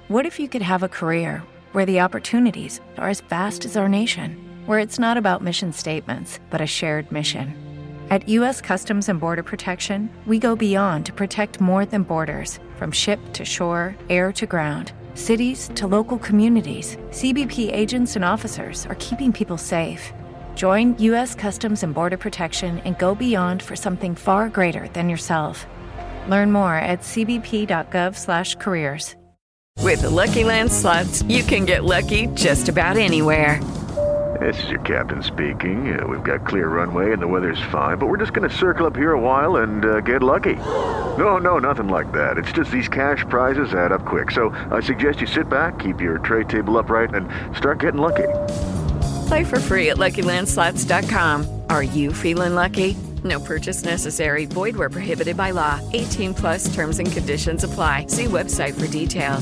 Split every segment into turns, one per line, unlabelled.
What if you could have a career where the opportunities are as vast as our nation, where it's not about mission statements, but a shared mission? At U.S. Customs and Border Protection, we go beyond to protect more than borders, from ship to shore, air to ground, cities to local communities. CBP agents and officers are keeping people safe. Join U.S. Customs and Border Protection and go beyond for something far greater than yourself. Learn more at cbp.gov/careers.
With the Lucky Land Slots, you can get lucky just about anywhere.
This is your captain speaking. We've got clear runway and the weather's fine, but we're just going to circle up here a while and get lucky. No, nothing like that. It's just these cash prizes add up quick. So I suggest you sit back, keep your tray table upright, and start getting lucky.
Play for free at LuckyLandSlots.com. Are you feeling lucky? No purchase necessary. Void where prohibited by law. 18 plus terms and conditions apply. See website for details.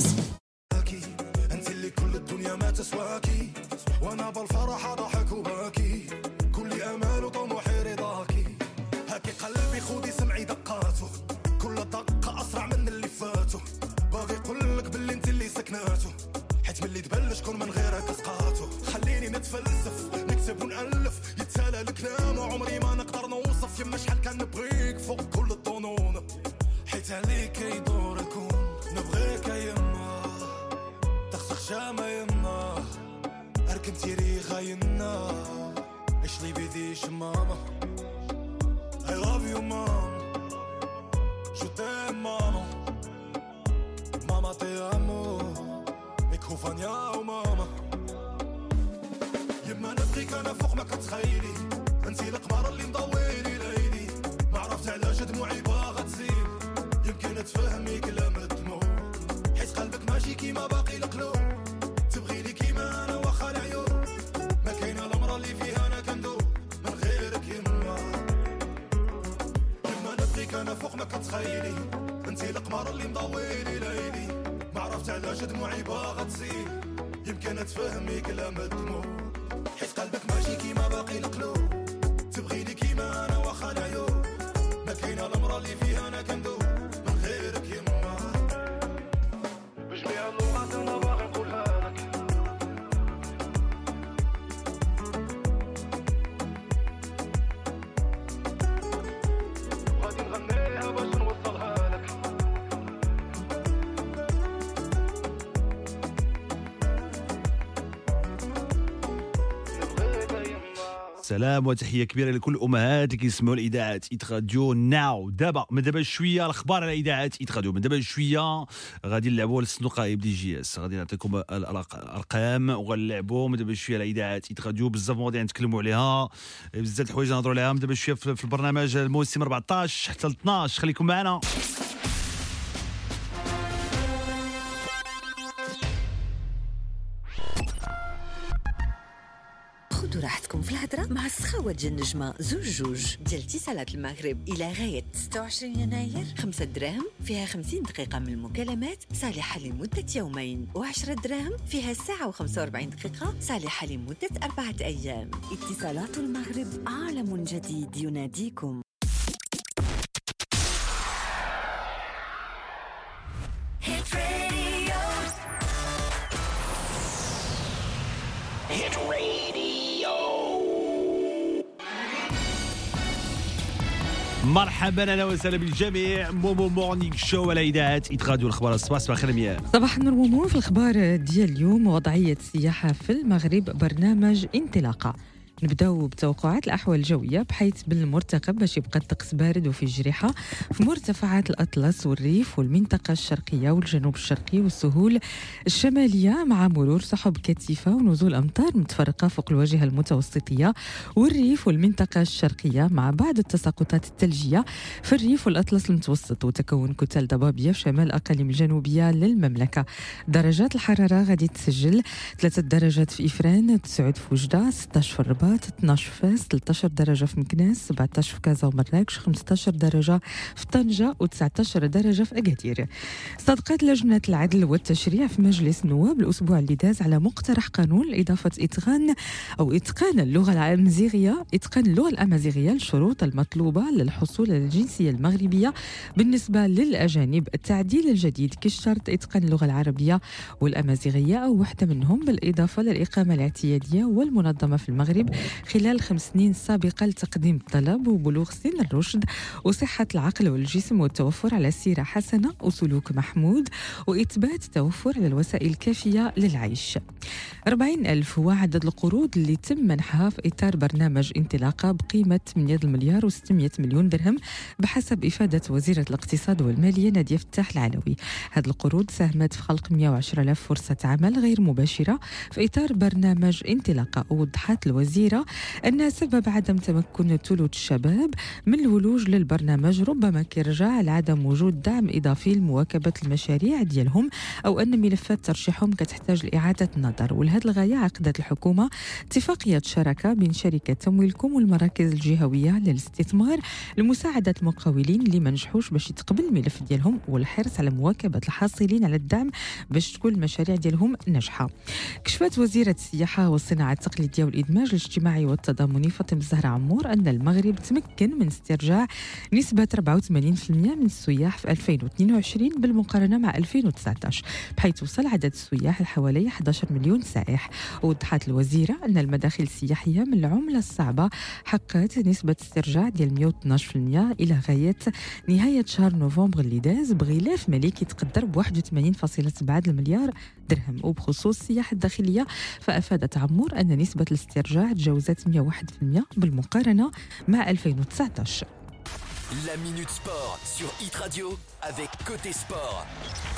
سلام وتحية كبيرة لكل أمهات اللي كيسمعوا الإذاعة إيت راديو ناو. دابا من دابا شوية الأخبار على إذاعة إيت راديو. من دابا شوية غادي نلعبوا الصندوق غائب دي جي اس، غادي نعطيكم الأرقام وغنلعبوا من دابا شوية على إذاعة إيت راديو. بزاف مواضيع نتكلموا عليها، بزاف الحوايج نهضروا عليها من دابا شوية في البرنامج الموسم 14 حتى ل 12. خليكم معنا.
خذوا راحتكم في الهضرة مع السخاوة ديال النجمة زوج ديال اتصالات المغرب إلى غاية 26 يناير. 5 دراهم فيها 50 دقيقة من المكالمات صالحة لمدة يومين، و10 دراهم فيها ساعة و45 دقيقة صالحة لمدة 4 أيام. اتصالات المغرب، عالم جديد يناديكم.
مرحبا اهلا وسهلا بالجميع. مومو مورنينغ شو على اذاعه إيت راديو. الأخبار الصباح. صباح الخير مياه.
صباح النور مومو. في الأخبار ديال اليوم وضعية السياحة في المغرب، برنامج انطلاقة. نبداو بتوقعات الأحوال الجوية، بحيث بالمرتقب باش يبقى الطقس بارد وفي جريحة في مرتفعات الأطلس والريف والمنطقة الشرقية والجنوب الشرقي والسهول الشمالية، مع مرور سحب كثيفة ونزول أمطار متفرقة فوق الواجهة المتوسطية والريف والمنطقة الشرقية، مع بعض التساقطات الثلجية في الريف والأطلس المتوسط، وتكون كتل ضبابية في شمال الأقاليم الجنوبية للمملكة. درجات الحرارة غادي تسجل 3 درجات في إفران، 9 في وجدة، 16 في الرباط، الرباط، 12 فاس، 13 درجة في مكناس، 17 في كازا ومراكش، 15 درجة في طنجة و19 درجة في أكادير. صدقت لجنة العدل والتشريع في مجلس النواب الأسبوع اللي داز على مقترح قانون لإضافة إتقان اللغة الأمازيغية للشروط المطلوبة للحصول على الجنسية المغربية بالنسبة للأجانب. التعديل الجديد كيشترط إتقان اللغة العربية والأمازيغية أو واحدة منهم، بالإضافة للإقامة الاعتيادية والمنظمة في المغرب خلال 5 سنين سابقة لتقديم الطلب، وبلوغ سن الرشد وصحة العقل والجسم، والتوفر على سيرة حسنة وسلوك محمود، وإثبات توفر على الوسائل الكافية للعيش. 40,000 هو عدد القروض اللي تم منحها في إطار برنامج انطلاقة بقيمة 8 مليار و600 مليون درهم بحسب إفادة وزيرة الاقتصاد والمالية نادية فتاح العلوي. هذه القروض ساهمت في خلق 110,000 فرصة عمل غير مباشرة في إطار برنامج انطلاقة. ووضحت الوزيرة أن سبب عدم تمكن ثلث الشباب من الولوج للبرنامج ربما كيرجع لعدم وجود دعم إضافي لمواكبة المشاريع ديالهم، أو أن ملفات ترشيحهم كتحتاج لإعادة النظر. ولهذه الغاية عقدت الحكومة اتفاقية شراكة بين شركة تمويلكم والمراكز الجهوية للاستثمار لمساعدة المقاولين اللي ما نجحوش باش يتقبل الملف ديالهم، والحرص على مواكبة الحاصلين على الدعم باش تكون المشاريع ديالهم ناجحة. كشفت وزيرة السياحة والصناعة التقليدية والإدماج الاجتماعي والتضامني فاطمة الزهراء عمور أن المغرب تمكن من استرجاع نسبة 84% من السياح في 2022 بالمقارنة مع 2019، بحيث وصل عدد السياح لحوالي 11 مليون سائح. ووضحت الوزيرة أن المداخل السياحية من العملة الصعبة حققت نسبة استرجاع ديال 112% إلى غاية نهاية شهر نوفمبر اللي داز، بغلاف مالي كيتقدر ب 81.7 مليار درهم. وبخصوص السياحة الداخلية فأفادت عمور أن نسبة الاسترجاع تجاوزت 101% بالمقارنة مع 2019.
La Minute Sport sur Hit Radio avec Côté Sport.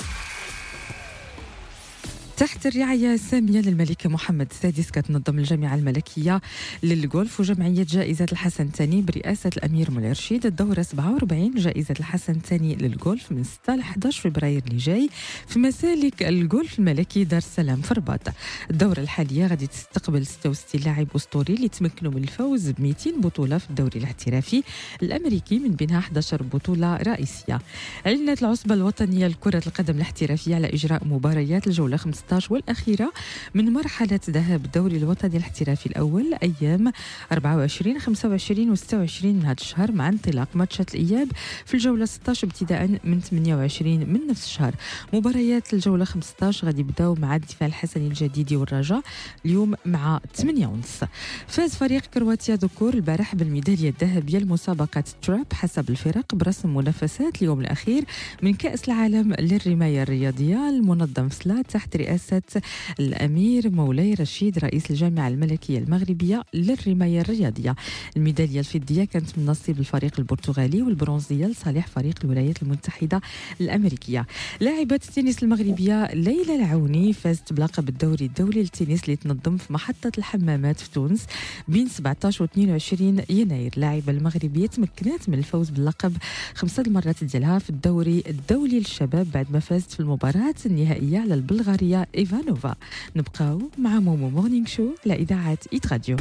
تحت الرعاية السامية للملك محمد السادس كتنظم الجامعة الملكية للغولف وجمعية جائزة الحسن الثاني برئاسة الأمير مولاي رشيد الدورة 47 جائزة الحسن الثاني للغولف من 6 ل 11 فبراير اللي جاي في مسالك الغولف الملكي دار السلام في الرباط. الدورة الحالية غادي تستقبل 66 لاعب أسطوري اللي تمكنوا من الفوز ب 200 بطولة في الدوري الاحترافي الأمريكي، من بينها 11 بطولة رئيسية. أعلنت العصبة الوطنية لكرة القدم الاحترافية على إجراء مباريات الجولة 15 والأخيرة من مرحلة ذهاب الدوري الوطني الاحترافي الأول أيام 24 25 و 26 من هذا الشهر، مع انطلاق ماتشات الإياب في الجولة 16 ابتداء من 28 من نفس الشهر. مباريات الجولة 15 غادي يبداو مع الدفاع الحسني الجديدي والرجاء اليوم مع 8:30. فاز فريق كرواتيا ذكور البارح بالميدالية الذهبية لمسابقة تراب حسب الفرق برسم منافسات اليوم الأخير من كأس العالم للرماية الرياضية المنظم في سلات تحت رئاسة الأمير مولاي رشيد رئيس الجامعة الملكية المغربية للرماية الرياضية. الميدالية الفضية كانت من نصيب الفريق البرتغالي والبرونزية لصالح فريق الولايات المتحدة الأمريكية. لاعبة التنس المغربية ليلى العوني فازت بلقب الدوري الدولي للتنس اللي تنظم في محطة الحمامات في تونس بين 17 و 22 يناير. لاعبة المغربية تمكنت من الفوز باللقب 5 المرات ديالها في الدوري الدولي للشباب بعد ما فازت في المباراة النهائية على البلغارية إيفانوفا. نبقاو مع مومو مورنينغ شو على إذاعة هيت راديو.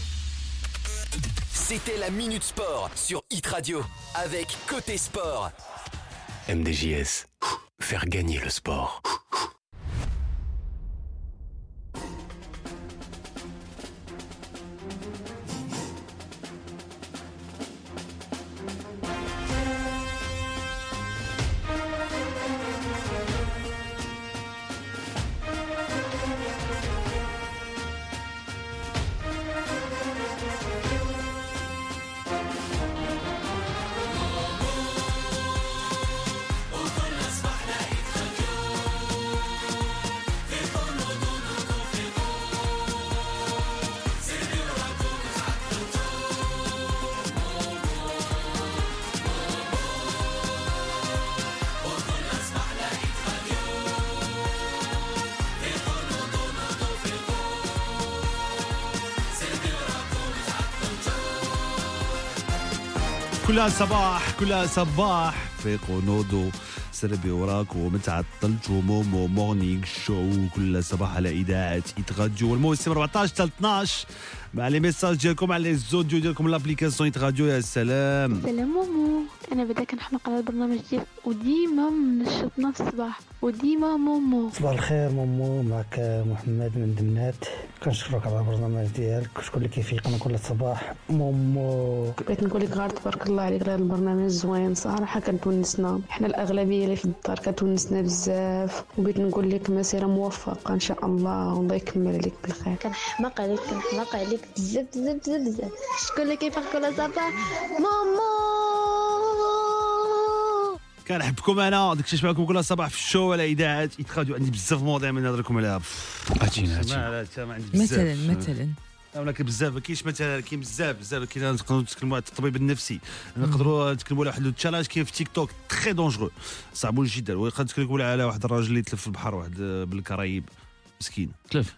C'était la Minute Sport sur Hit Radio avec Côté Sport.
MDJS, faire gagner le sport.
كلها صباح فيقوا نوضوا تسربي وراك وما تعطلت ومومو مورنينغ شو كل صباح على اذاعه راديو والموسم 14 حتى 12 مع لي ميساج ديالكم على الزوديو ديالكم لابليكاسيون راديو. يا سلام
سلام مومو، انا بداك كنحماق على البرنامج ديالك وديما منشطنا في الصباح وديما مومو.
صباح الخير مومو، معك محمد من دمنات. كنشكرك على البرنامج ديالك وشكون اللي كيفيقنا كل صباح مومو.
بغيت نقول لك غير تبارك الله عليك على البرنامج زوين صراحه، كتونسنا حنا الاغلبيه اللي في الدار كتونسنا بزاف، وبغيت نقول لك مسيره موفقه ان شاء الله والله يكمل عليك بالخير.
كنحماق عليك بزاف بزاف بزاف بزاف. شكون اللي كيفيق كل صباح؟ مومو.
كنحبكم انا داكشي نسمع لكم كل صباح في الشو على اذاعه راديو. عندي بزاف مواضيع من نهضر لكم عليها.
مثلا
ولكن بزاف ما كاينش مثلا، كاين بزاف كاين. نقدروا نتكلموا على الطبيب النفسي، نقدروا نتكلموا على واحد التشالنج كاين في تيك توك تري دونجرو صعب جدا. ونقدر نتكلموا على واحد الراجل اللي تلف في البحر، واحد بالكرايب مسكين
تلف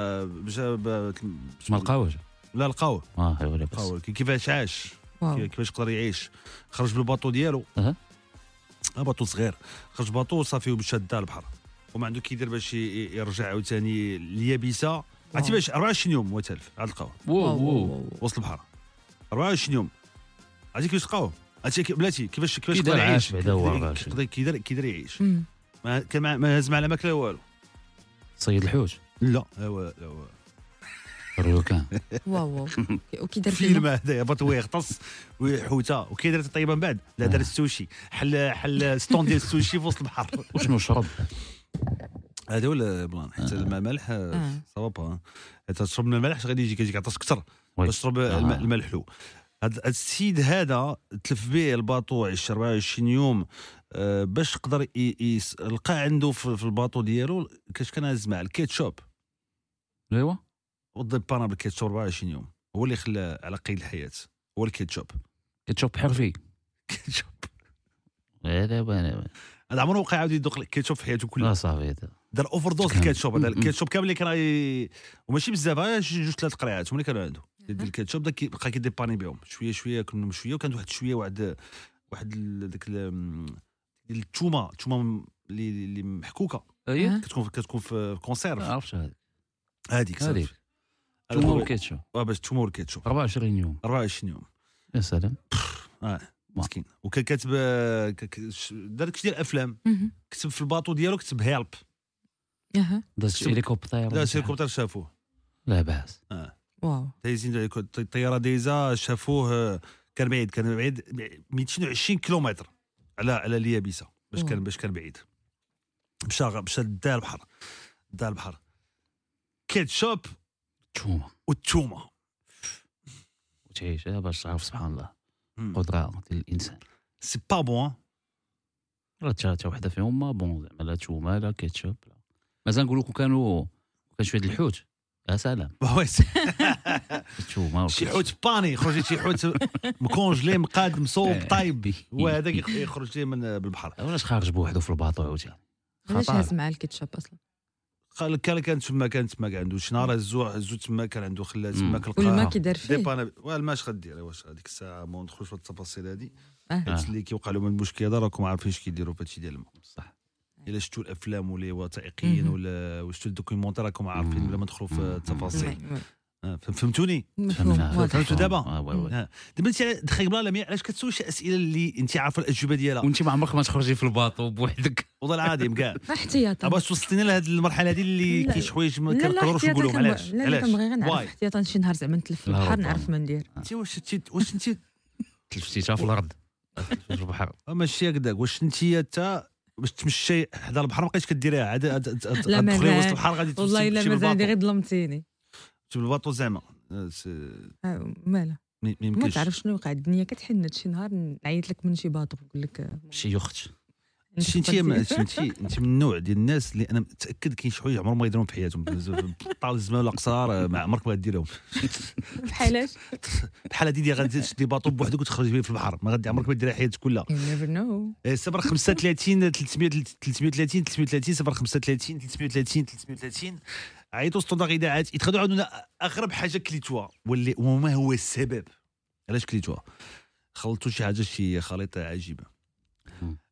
ما
لقاوش.
لا لقاوه
ايوا
كيفاش عاش، كيفاش قدر يعيش. خرج بالباطو ديالو، باطو صغير، خرج باطو صافي ومشى دا البحر وما عنده كيدير باش يرجع عاوتاني اليابسه. عرفتي باش 24 يوم هو تلف عاد لقاوه وسط البحر 24 يوم. عرفتي كيفاش لقاوه؟ عرفتي بلاتي كيفاش قدر يعيش؟ كيدير يعيش. ما هز مع لا ماكله والو.
صيد الحوت؟
لا
الروكان.
واو وكيدير
فيلم هذايا باطو يغطس وحوته وكيدير طيبه من بعد. لا دار السوشي، حل ستون ديال السوشي في وسط البحر.
وشنو شرب؟
هذا هو البلان. حيت الماء مالح صواب، حيت تشرب من الملح غادي يجيك عطش اكثر باش تشرب الماء الحلو. هذا السيد هذا تلف به الباطو 24 يوم باش يقدر لقى عنده في الباطو ديالو كاش كان هز مع الكيتشوب.
ايوا
وضبانا بالكيتشوب 24 يوم هو اللي خلى على قيد الحياه. هو الكيتشوب
حرفي.
كيتشوب
هذا
عمره وقع عاود يذوق الكيتشوب في حياته كلها.
صافي
دار اوفر دوز الكيتشوب. هذا الكيتشوب كامل اللي كان وماشي بزاف، جوج 3 قرعات هما اللي كانوا عنده ديال الكيتشوب. داك بقى كيديباني بهم شويه كنا شويه، وكانت واحد شويه واحد داك التومه اللي محكوكه كتكون في كونسيرف.
عرفت
هذيك
تومه والكيتشوب.
باش تومه والكيتشوب
24 يوم.
يا
سلام.
مسكين. وكان كاتب دار داكشي ديال الافلام، كتب في الباطو ديالو كتب هيلب.
داز هليكوبتر
شافوه
لا باس.
واو
دايزين الطياره دايزه شافوه. كان بعيد 220 كيلومتر على اليابسه باش كان بعيد. مشى دا البحر كيتشوب والتومه
وتعيش باش تعرف سبحان الله قدره ديال الانسان.
سي با بون
حتى وحده فيهم ما بون زعما لا تومه لا كيتشوب. مازال نقول لكم كان شويه الحوت. يا سلام
شي حوت باني خرج شي حوت مكونجلي مقاد مصوب طايب وهذاك يخرج ليه من بالبحر.
علاش خارج بوحدو في الباطو عاوتاني؟
علاش هاز مع الكيتشوب اصلا؟
قال كان تما عنده شي نهار هزو تما كان عنده خلات تما كلقى
والما كيدار فيه
والما اش غدير واش هذيك الساعه ما ندخلوش في التفاصيل هذه. اللي كيوقع لهم المشكل هذا راكم عارفين اش كيديروا في هادشي ديال الماء. صح. الا شفتوا الافلام ولا وثائقيين ولا شفتوا الدوكيومونتير راكم عارفين بلا ما ندخلوا في التفاصيل. فهمتوني؟ فهمتوا دابا؟ دابا انت دخيل بلا لميا علاش كتسول شي اسئله اللي انت عارفه الاجوبه ديالها
وانت ما عمرك ما تخرجي في الباطو بوحدك؟
والله العظيم كاع
احتياطا
باش توصلتينا لهاد المرحله هذه اللي كاين شي حوايج ما كنقدروش نقولهم. علاش
كنبغي غير نعرف احتياطا شي نهار زعما نتلف في البحر نعرف ما ندير.
انت واش انت
تلفتي في الارض في البحر؟
ماشي هكذاك. واش انت حتى باش تمشي حدا البحر ما بقيتش كديريها عاد
تدخلي
وسط البحر غادي تمشي
والله الا مازال غير ظلمتيني
تجيب الباطو زعما
مالا ما تعرف شنو وقع. الدنيا كتحنت شي نهار نعيط لك من شي باطو نقول لك
شي يخت.
انت من النوع ديال الناس اللي انا متاكد كاين شي حوايج عمرهم ما يديرهم في حياتهم. طال الزمان ولا قصار ما عمرك ما غديرهم.
بحالاش
بحال هادي اللي غادي تشدي باطو بوحدك وتخرج به في البحر ما غادي عمرك ما ديرها حياتك كلها.
You never know.
035 330 035 330 عيطوا ستوندار اذاعات يتخدعوا عندنا اغرب حاجه كليتوها وما هو السبب علاش كليتوها. خلطوا شي حاجه شي خليطه عجيبه.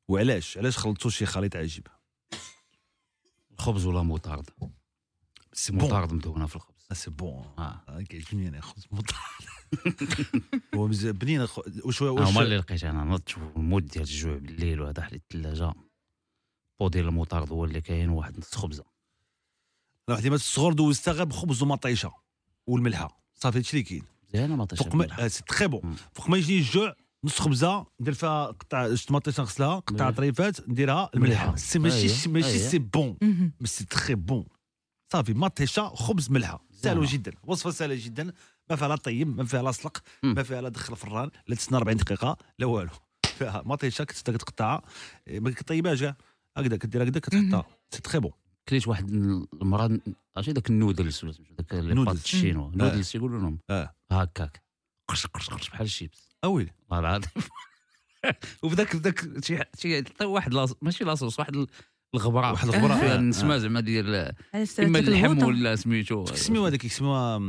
وعلاش خلطتوا شي خليط عجيب؟
الخبز ولا موطارد؟
سي
موطارد مدهونه في الخبز.
سي بون كيعجبني انا خبز موطارد. هو بنين واش
هما اللي لقيت انا نضت المود ديال الجوع بالليل وهذا حل الثلاجه بو ديال الموطارد هو اللي كاين واحد نص خبزه.
واحد ديما الصغور دوزتها غير بخبز ومطيشه والملحه صافي هادشي اللي كاين.
زين مطيشه
سي تري بون. فوق ما يجيني الجوع نص خبزه ندير فيها قطع طماطيش نغسلها قطع طريفات نديرها الملحه. سي ماشي سي بون بس سي تري بون. صافي مطيشه خبز ملحه سهله جدا. وصفه سهله جدا ما فيها لا طيب ما فيها لا سلق ما فيها لا دخل الفران لا تسنى 40 دقيقه لا والو. فيها مطيشه كتقطعها ما كطيبهاش كاع هكذا كدير هكذا كتحطها سي تري بون.
كليت واحد المرة عرفتي داك النودلز ولا داك لي بات الشينوا نودلز يقولوا لهم هكاك قرش بحال الشيبس
اويلي
والله العظيم. وبداك شي واحد ماشي لاصوص واحد الغبره فيها النسمه زعما ديال اما اللحم ولا سميتو
كيسميوها هذاك كيسميوها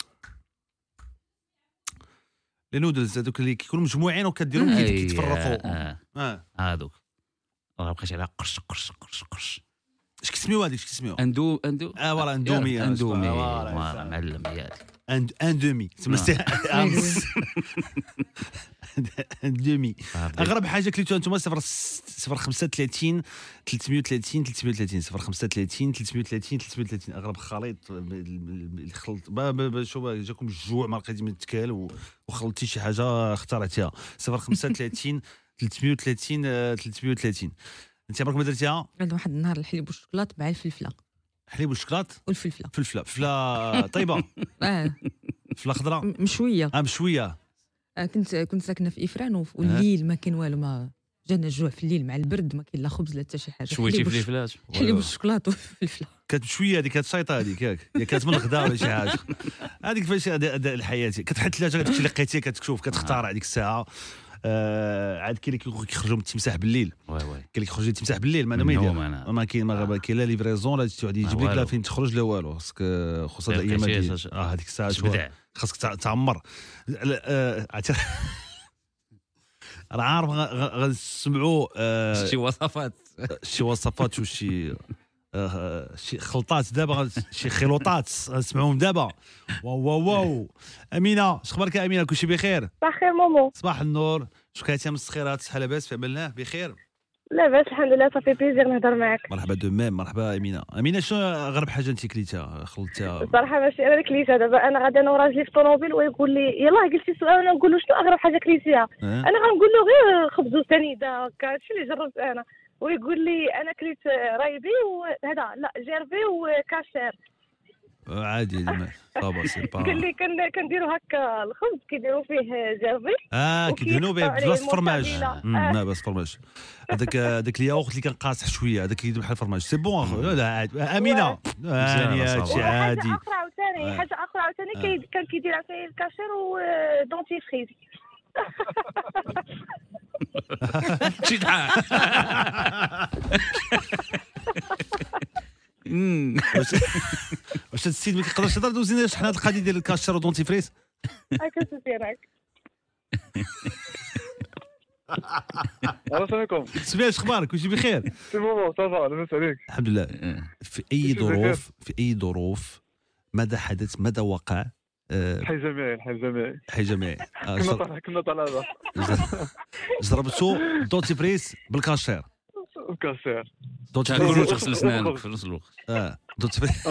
لي نودلز هذوك اللي كيكونوا مجموعين وكديرهم كيتفرقوا
هذوك راه بقيت على قرش
اش كيسميوها هذيك كيسميوها
فوالا اندومي فوالا معلم هذيك
اندومي اندومي. اغرب حاجه كليتوها انتم 035 330 330 035 330 330 اغرب خليط الخلط شو جاكم الجوع ما لقيتي من التكال وخلطتي شي حاجه اخترعتيها 035 330 330. انت عمرك ما درتيها؟
عند واحد النهار الحليب والشوكولات مع الفلفله.
حليب والشوكولات
والفلفله
فلفله طيبه. فلفله خضراء
مشويه
مشويه.
كنت ساكنه في افران والليل ما كاين والو ما جانا الجوع في الليل مع البرد ما كاين لا خبز لا حتى شي حاجه.
شويتي فلفلات
حليب والشوكولات والفلفله
كانت مشويه هذيك كانت شيطه هذيك ياك كانت من الغداء ولا شي حاجه. هذيك فاش الحياه كتحط الثلاجه داكشي اللي لقيتيه كتشوف كتختار هذيك الساعه. عاد كاين اللي كيخرجوا من التمساح بالليل كاين اللي كيخرج التمساح بالليل ما ما كاين ما كاين لا ليفريزون لا واحد يجيب لك لا فين تخرج لا والو خاصك خصوصا الايام هذيك الساعه خاصك تعمر. راه عارف غنسمعوا شي وصفات وشي شي خلطات دابا شي خلطات غنسمعوهم دابا. واو امينه اش اخبارك امينه؟ كلشي بخير؟
صباح الخير مومو.
صباح النور. شكون كاينه مسخيرات صحه لاباس في عملناه بخير؟
لاباس الحمد لله صافي بليزير نهضر معاك.
مرحبا دو ميم. مرحبا امينه شنو اغرب حاجه انت كليتها خلطتها؟
صراحه ماشي انا اللي كليتها. دابا انا غادي انا وراجلي في الطوموبيل ويقول لي يلاه قلتي سؤال انا نقول له شنو اغرب حاجه كليتيها. انا غنقول له غير خبز وسنيده هكا هادشي اللي جربت انا. ويقول لي انا كليت رايبي وهذا لا جيرفي وكاشير
عادي صافا سي با.
قال لي كنديروا هكا الخبز كيديروا فيه جيرفي
كيدهنوا به بلاصه الفرماج. لا بس فرماج هذاك الياغورت اللي كان قاصح شويه هذاك يدير بحال الفرماج سي بون. لا عادي امينه هادشي عادي.
حاجه اخرى عاوتاني كان كيدير عاوتاني الكاشير ودونتي فريز.
شي ضحك.
واش السيد ما كيقدرش يهضر دوزي لنا شحال هاد القضيه ديال الكاشير ودونتي فريز
هكا تسيرك.
السلام عليكم.
سمير اش اخبارك؟ واش بخير؟
سي بون صافا لاباس عليك؟
الحمد لله. في اي ظروف ماذا حدث ماذا وقع؟
حي جميعي كنا طالع
جربتو دونتي فريز بالكاشير
دونتي فريز تغسل اسنانك في نفس الوقت.
دونتي فريز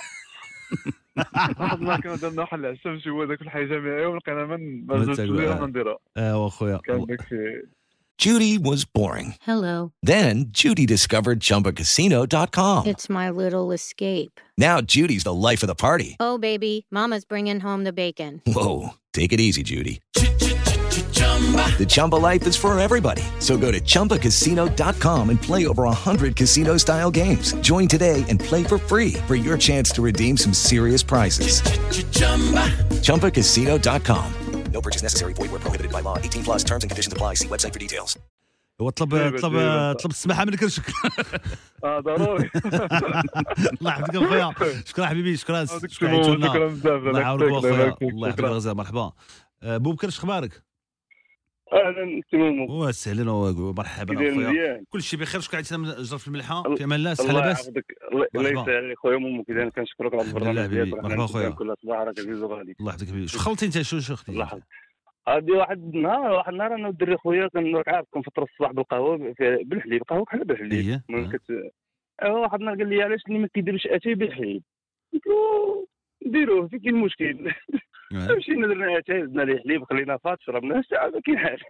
ما كنا درنا واحد العشاء هو داك الحي جميعي ولقينا ما زلتش نديرها.
واخويا
Judy was boring.
Hello.
Then Judy discovered ChumbaCasino.com.
It's my little escape.
Now Judy's the life of the party.
Oh, baby, mama's bringing home the bacon.
Whoa, take it easy, Judy. The Chumba life is for everybody. So go to ChumbaCasino.com and play over 100 casino-style games. Join today and play for free for your chance to redeem some serious prizes. ChumbaCasino.com. No purchase necessary. Void where prohibited by law. 18 plus terms and conditions apply. See website for details.
طلب السماحه من الكرشك.
ضروري.
الله يحفظك اخويا. شكرا حبيبي شكرا
بزاف.
الله يعاونك اخويا. الله يحفظك غزال. مرحبا بوبكر اش اخبارك؟
اهلا تمام
وسهلا ومرحبا اخويا كل شيء بخير. شكون عيطنا جرف الملحه في امان الله صحه لاباس
الله يسهل خويا مومو كذا كنشكرك على البرنامج ديالك
مرحبا خويا
كل صباح راك عزيز وغالي
الله يحفظك حبيبي. شو خلطي انت شو اختي
الله يحفظك هادي واحد النهار انا والدري خويا كنراك عارف كنفطر الصباح بالقهوه بالحليب قهوه بحال بالحليب واحد النهار قال لي علاش ما كيديروش اتاي بالحليب قلت له نديروه فين كاين المشكل مشينا درنا اتاي زدنا ليه حليب خلينا فات شربنا ساعه ما كاين حاجه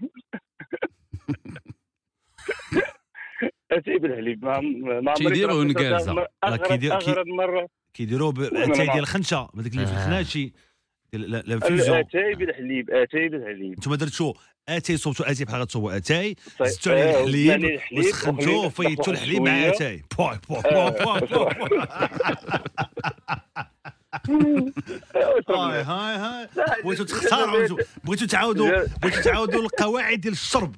اتاي بالحليب ما
كيديروه نكازه
اغرب مره
كيديروه اتاي ديال الخنشه هذاك اللي في الخناشي لا فيزو
اتاي بالحليب اتاي بالحليب
انتم درتو اتاي صوبتوا اتاي بحال غتصوبوا اتاي زدتوا عليه الحليب وسخنتوه وفيتوا الحليب مع اتاي هاي بغيتوا تختاروا بغيتوا تعاودوا القواعد ديال الشرب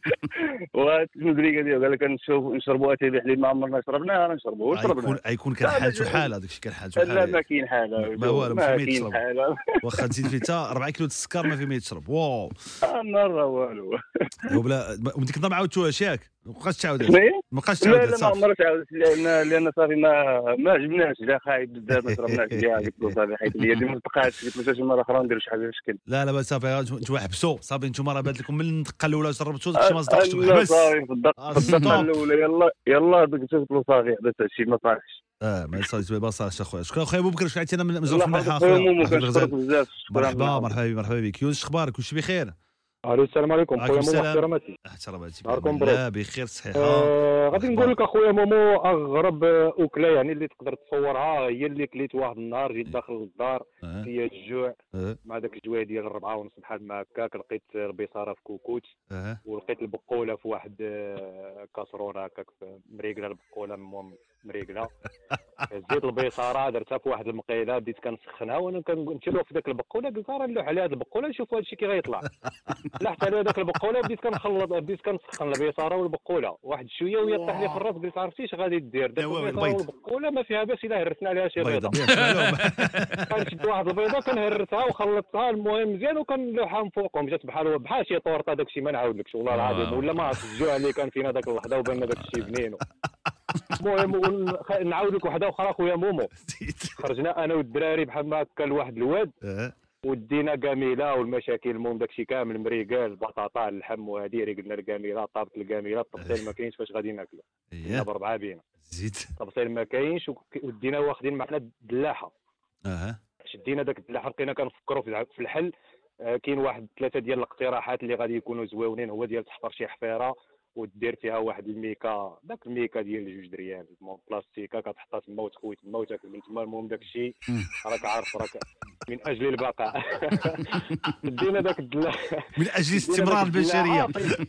والمدري قال لك نشربوا اتاي بحليب ما عمرنا شربناه نشربوه
يكون كان حالته حال هذاك الشيء كان حالته حال
لا ما كاين حاله
ما والو ما كاين حاله واخا تزيد فيه حتى 4 كيلو السكر ما في ما يتشرب واو
مره والو
وبلا وديك النهار ما عاودتوهاش ياك ما بقاش تعاود
ما لا عمرها تعاود لان صافي ما عجبناش لا خايب بزاف ما شربناش فيها قلت له صافي حيت لي ما بقاتش قلت له شي مره اخرى ندير شي حاجه شكل
لا صافي انتوا حبسوا صافي انتوا راه بات لكم من الدقه الاولى جربتوا داكشي ما صدقش
حبس صافي في الدقه الاولى يلا ديك قلت له صافي حبس هادشي ما صالحش
ما يصالحش ما صالحش اخويا. شكرا اخويا ابو بكر شكون عيطتينا من مزول في الملحه
اخويا
مرحبا بك يونس اخبارك كلشي بخير
الو السلام عليكم خويا مومو احتراماتي
نهاركم لا بخير صحيحه
غادي نقول لك اخويا مومو اغرب اكله يعني اللي تقدر تصورها هي اللي كليت واحد النهار جيت داخل الدار فيا الجوع مع داك الجوع ديال 4:30 بحال ما هكاك لقيت البيصاره في كوكوت ولقيت البقوله في واحد كاسرونه هكاك مريقله البقوله مريقله زيت البيصاره درتها في واحد المقيله بديت كنسخنها وانا كنمشيو في داك البقوله قلت راه نلوح على هاد البقوله نشوف هادشي كي غيطلع لحت على داك البقوله بديت كنسخن البيصاره والبقوله واحد شويه وهي طاح لي في الراس قلت عرفتي اش غادي دير داك البيصاره والبقوله ما فيها باس الا هرسنا عليها شي بيضه كنشد واحد البيضه كنهرسها وخلطتها المهم مزيان وكنلوحها من فوقهم جات بحال شي طورطه داك الشيء ما نعاودلكش والله العظيم ولا ما عرفت الجوع اللي كان فينا داك اللحظه وبان داك الشيء بنين المهم نعاود لك وحده اخرى خويا مومو خرجنا انا والدراري بحال ما هكا لواحد الواد ودينا كاميله والمشاكل المهم داكشي كامل مريقال بطاطا اللحم وهذه قلنا الكاميله طابت الكاميله الطبسيل ما كاينش فاش غادي ناكلو ب4 بينا
زيد
الطبسيل ما كاينش ودينا واخدين معنا الدلاحه شدينا داك الدلاحه بقينا كنفكروا في الحل كاين واحد 3 ديال الاقتراحات اللي غادي يكونوا زويونين هو ديال تحفر شي حفيره ودير فيها واحد الميكا داك الميكا ديال 2 دريال بلاستيكا كتحطها تما وتخوي تما وتاكل من تما المهم داك الشيء راك عارف راك من اجل البقاء دينا داك
من اجل استمرار البشريه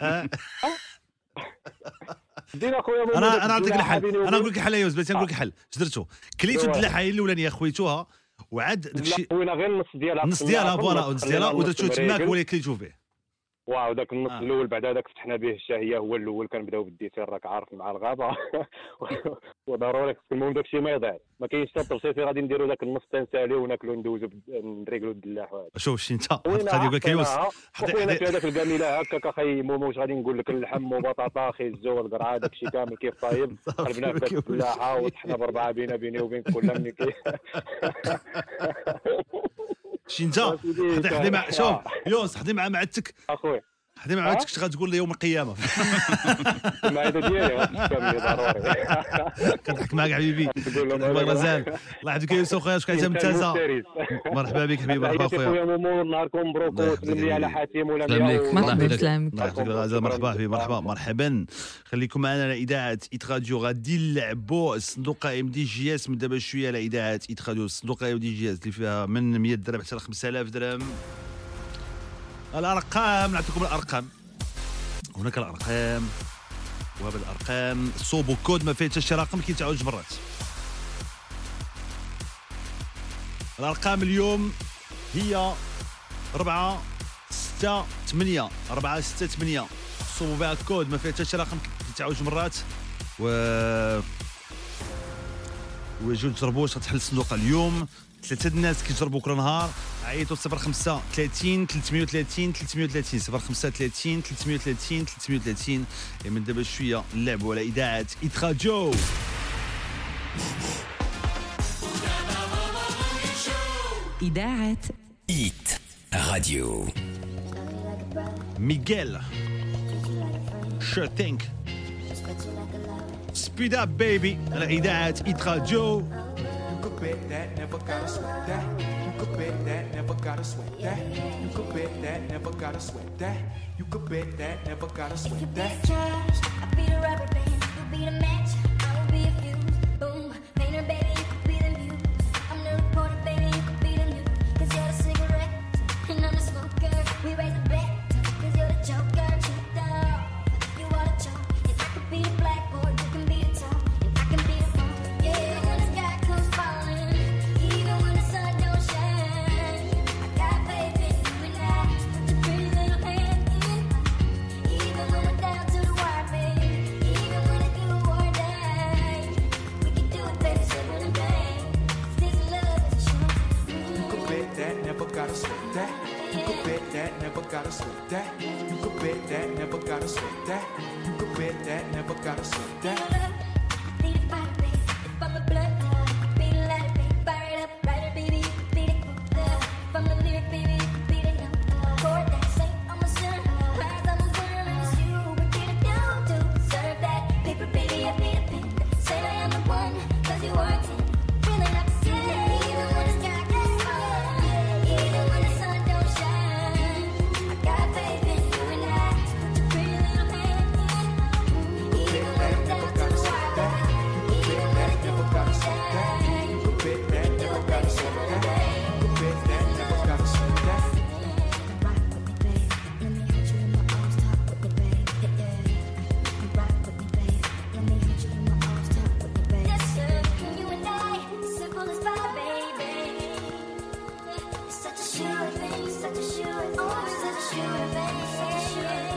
دينا خويا
انا نعطيك الحل انا نقول لك الحل يا يوسف نقول لك الحل درتو كليتو الدلاحه الاولانيه خويتوها وعاد داكشي
خوينا غير النص ديالها
فوالا النص ديالها ودرتو تماك هو اللي كليتو فيه
واو داك النص الاول بعد هذاك فتحنا به الشهيه هو الاول كنبداو بالديسير راك عارف مع الغابه وضروري المهم داك الشيء ما يضيع ما كاينش حتى التبسيط غادي نديروا داك النص تنساليو وناكلوا ندوزوا نريقلوا الدلاح وهذا
شوف شي انت غادي يقول لك يوسف
حطينا في هذاك الكاميله هكاك اخي مومو واش غادي نقول لك اللحم وبطاطا اخي الزو والقرعه داك الشيء كامل كيف طايب قلبنا في داك الدلاحه وطحنا ب4 بيني وبين كل ملي
شي انت حضي مع شوف يوسف حضي مع معدتك
اخويا
حدي ما عاودتش غتقول لي يوم القيامه
المعده ديالي ضروري
كنضحك معاك حبيبي غزال الله يحفظك يا يوسف خويا شكون عايز ممتازه مرحبا بك حبيبي مرحبا خويا
مومو نهاركم مبروك وسلم لي على حاتم ولا
مرحبا بسلامك
مرحبا حبيبي مرحبا خليكم معنا على اذاعه ايت راديو غادي نلعبوا الصندوق ام دي جي اس من دابا شويه على اذاعه ايت راديو الصندوق ام دي جي اس اللي فيها من 100 درهم حتى ل 5000 درهم الأرقام نعطيكم الأرقام هناك الأرقام وهذه الأرقام صوبوا كود ما فيه حتى شي رقم كيتعاود جوج مرات الأرقام اليوم هي 4 6 8 4 6 8 صوبوا بها كود ما فيه حتى شي رقم كيتعاود جوج مرات وجيو تجربوا واش غتحل الصندوق اليوم. 3 الناس كيجربوا كل نهار. عيطوا 05 30 330 330 05 30 330 330. من دابا شويه نلعبوا على اذاعه إيت راديو.
إذاعة
إيت راديو.
ميغيل Sure Think Speed Up Baby على إذاعة إيت راديو.
You could bet that, never gotta sweat that. You could bet that, never gotta sweat that. You could bet that, never gotta sweat that. You could bet that, never gotta sweat that.
If you be trash, I'll be the rubber band. You'll be the match, I will be a fuse. Boom, painter baby, you could be the muse. I'm the reporter baby, you could be the news. 'Cause you're the cigarette, and I'm the smoker. We raise the bet, 'cause you're the joker. Checked out, you are the joke. And I could be the blackboard, you can be the top. And I can be the phone, yeah, when the sky comes falling. Even when the sun don't shine, I got faith in you and I. Put your pretty little hand in mine. Even when we're down to the wire, baby. Even when it's do or die. We can do it, baby, simple and plain. 'Cause this love is a short thing.
You could bet that, never gotta sweat that. You could bet that, never gotta sweat that. You could bet that, never gotta sweat that. You could bet that, never gotta sweat that.
Be the fire, baby. If I'm the blood, be the light, baby. Fire it up, write it, baby. You could be the quote. If I'm the lyric, baby, you could be the note. Chord that say I'm a sinner. Cries I'm a winner, and it's you. We get it down to serve that paper, baby. I be the pen. Say I am the one, 'cause you are 10. Really not the same. Even when the sky gets falling, even when the sun don't shine, I got faith in you and I. Put your pretty little hand in mine. Even when we're down to the wire, even when it's do or die.
You could bet that, never gotta sweat that. You could bet that, never gotta sweat that.
Rock with me, babe. Let me hold you in my arms, talk with me, babe. Yeah. Rock with me, babe. Let me hold you in my arms, talk with me, babe. Yes, sir. You and I, simple as pie, baby. It's such a sure thing, such a sure thing, oh, such a sure thing, such a sure thing.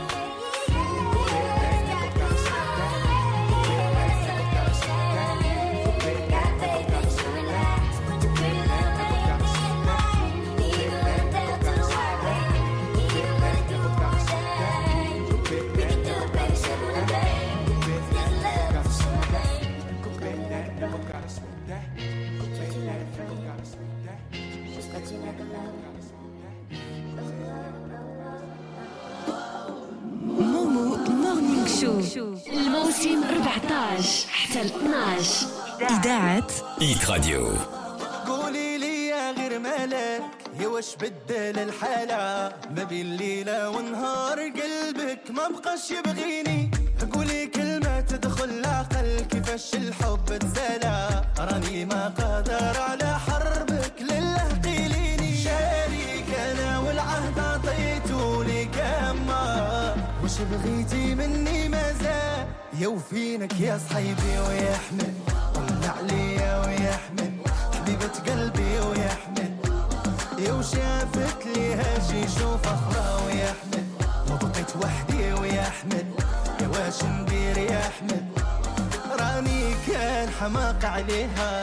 مومو مورنينغ شو الموسم 14 حتى 12 إذاعة
إيت راديو.
قولي لي يا غير مالك يا واش بدل الحالة ما بين ليلة ونهار قلبك ما بقاش يبغيني. قولي كلمة تدخل العقل كيفاش الحب تسالى راني ما قادر على حربك لله قيليني. شاريك أنا والعهد عطيته لك أما وش بغيتي مني مازال يوفينك يا صحيبي ويحمل طلع عليا ويحمل حبيبة قلبي ويحمل يو شافت لي هاجي شوف أخرى ويحمل وبقيت وحدي ويحمل يا واش ندير يحمل راني كان حماق عليها.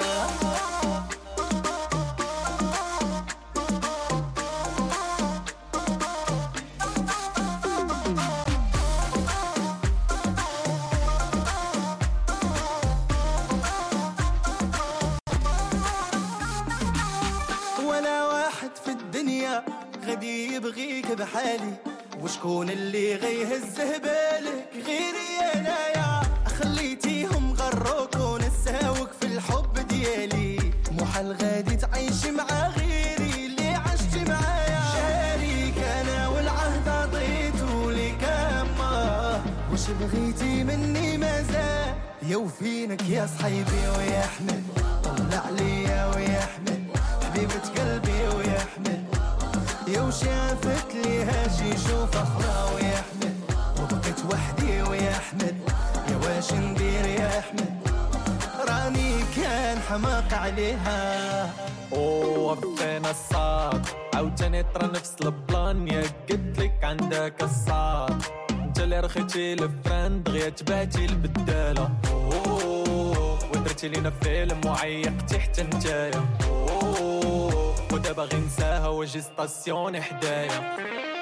غادي يبغيك بحالي وشكون اللي غيهزه بالك غيري انايا. خليتيهم غروك ونساوك في الحب ديالي محال غادي تعيش مع غيري اللي عشت معايا. شاريك انا والعهد عطيته لك اما وش بغيتي مني مازال يوفينك يا صحيبي ويحمل طلع عليا ويحمل حبيبة قلبي ويحمل يو شافت لي هاجي شوف أخرى ويحمل وبقيت وحدي ويحمل يا واش ندير يحمل راني كان حماق عليها.
وفينا الصاد عاوتاني طرا نفس البلان يا قلتلك عندك الصاد انت اللي رخيتي الفران دغيا تبعتي البدالة صورتي لينا فيلم وعيقتي حتى نتايا ودابا غير نساها واجي ستاسيون حدايا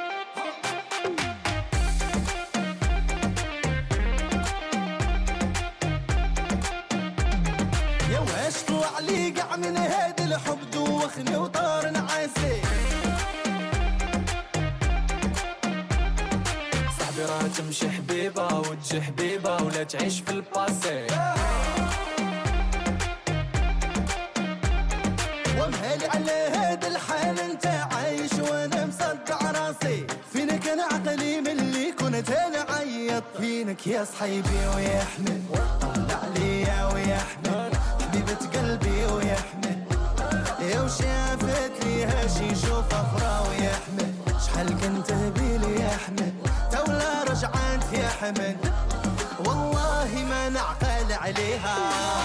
يا واش طلع لي قاع من هاد الحب دوخني وطار نعاسي
صاحبي راه تمشي حبيبة وتجي حبيبة ولا تعيش في الباسي
ومهالي على هاد الحال انت عايش وانا مصدع راسي فينك انا عقلي ملي كنت انا عيط فينك يا صحيبي ويا احمد طلع ليا ويا احمد حبيبة قلبي ويا احمد يا وشافت لي هاشي شوف اخرى ويا احمد شحال كنت بيلي يا احمد تولا رجعت يا حمد والله ما نعقل عليها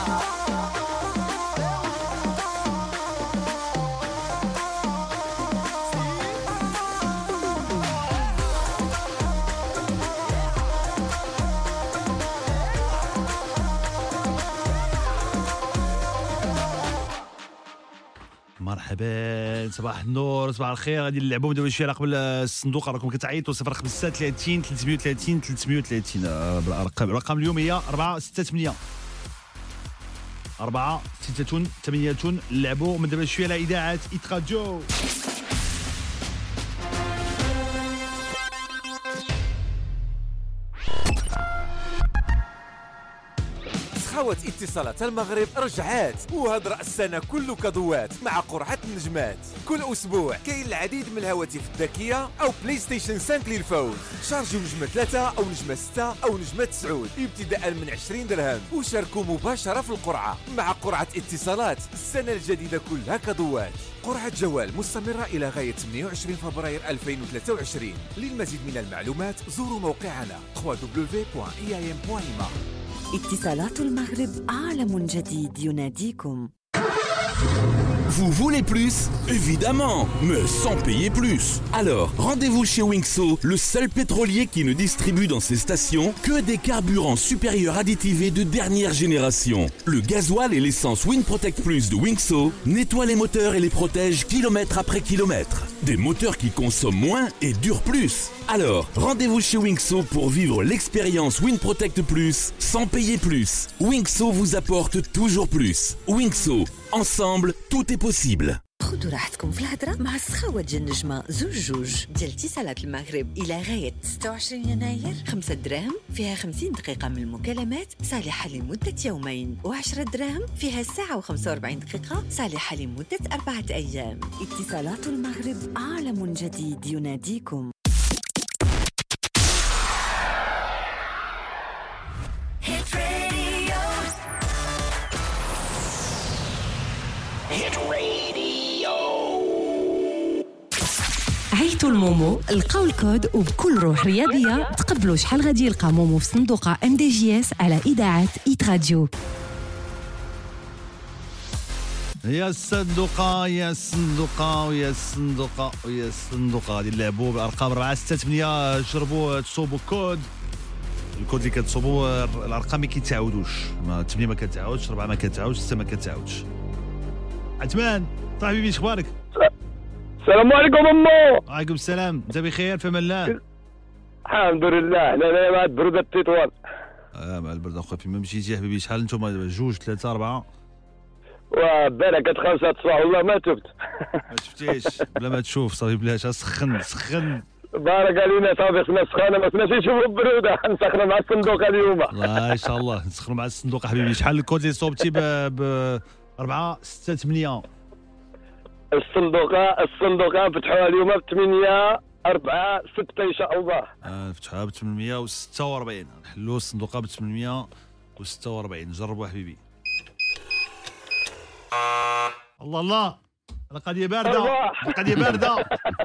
مرحبا صباح النور صباح الخير. غادي نلعبوا دابا شويه قبل الصندوق. راكم كتعيطوا 035 330 330 الارقام اليوم هي 4 6 8 4 6 8. نلعبوا من دابا شويه على اذاعه إيت راديو.
سخاوة اتصالات المغرب رجعات وهاد رأس السنة كله كضوات مع قرعة النجمات. كل أسبوع كاين العديد من الهواتف الذكية أو بلاي ستيشن 5 للفوز. شارجوا نجمة 3 أو نجمة 6 أو نجمة 9 ابتداء من 20 درهم وشاركوا مباشرة في القرعة. مع قرعة اتصالات السنة الجديدة كلها كضوات. قرعة جوال مستمرة إلى غاية 28 فبراير 2023. للمزيد من المعلومات زوروا موقعنا www.iam.ma.
اتصالات المغرب عالم جديد يناديكم.
Vous voulez plus? Évidemment, mais sans payer plus. Alors, rendez-vous chez Winkso, le seul pétrolier qui ne distribue dans ses stations que des carburants supérieurs additivés de dernière génération. Le gasoil et l'essence WinProtect Plus de Winkso nettoient les moteurs et les protègent kilomètre après kilomètre. Des moteurs qui consomment moins et durent plus. Alors, rendez-vous chez Winkso pour vivre l'expérience WinProtect Plus sans payer plus. Winkso vous apporte toujours plus. Winkso, ensemble, tout est possible.
خذوا راحتكم في الهضرة مع السخاوة ديال النجمة زوج ديال اتصالات المغرب إلى غاية 26 يناير. 5 دراهم فيها 50 دقيقة من المكالمات صالحة لمدة يومين، و10 دراهم فيها ساعة و45 دقيقة صالحة لمدة 4 أيام. اتصالات المغرب عالم جديد يناديكم.
عيطوا المومو لقاو الكود وبكل روح رياضية تقبلوا شحال غادي يلقى مومو في صندوقة MDJS على إذاعة إيت راديو.
يا الصندوقة يا الصندوقة ويا الصندوقة ويا الصندوقة. غادي نلعبوا بالأرقام 4 6 8. جربوا تصوبوا الكود اللي كتصوبوا الأرقام ما كيتعاودوش. 8 ما كتعاودش، 4 ما كتعاودش، 6 ما كتعاودش. عثمان صاحبي اش اخبارك؟
السلام عليكم امو.
وعليكم السلام. انت بخير في امان الله؟
الحمد لله. انا مع البرده التطوال.
مع البرده اخويا. فين ما مشيتي يا حبيبي؟ شحال نتوما؟ 2 3 4
وبالك 5 الصباح والله ما تبت.
ما شفتيش بلا ما تشوف صافي بلاش. سخن
بارك علينا صافي. خصنا سخانه ما خصناش نشوفوا البروده. نسخنوا مع الصندوق اليوم.
ان شاء الله نسخنوا مع الصندوق حبيبي. شحال الكود اللي صوبتي ب 4 6 8؟
الصندوقة فتحوها اليوم ب 8 4 6 إن شاء الله.
فتحوها ب 846. نحلوا الصندوقة ب 846. جربوا حبيبي. الله القضية باردة. القضية باردة.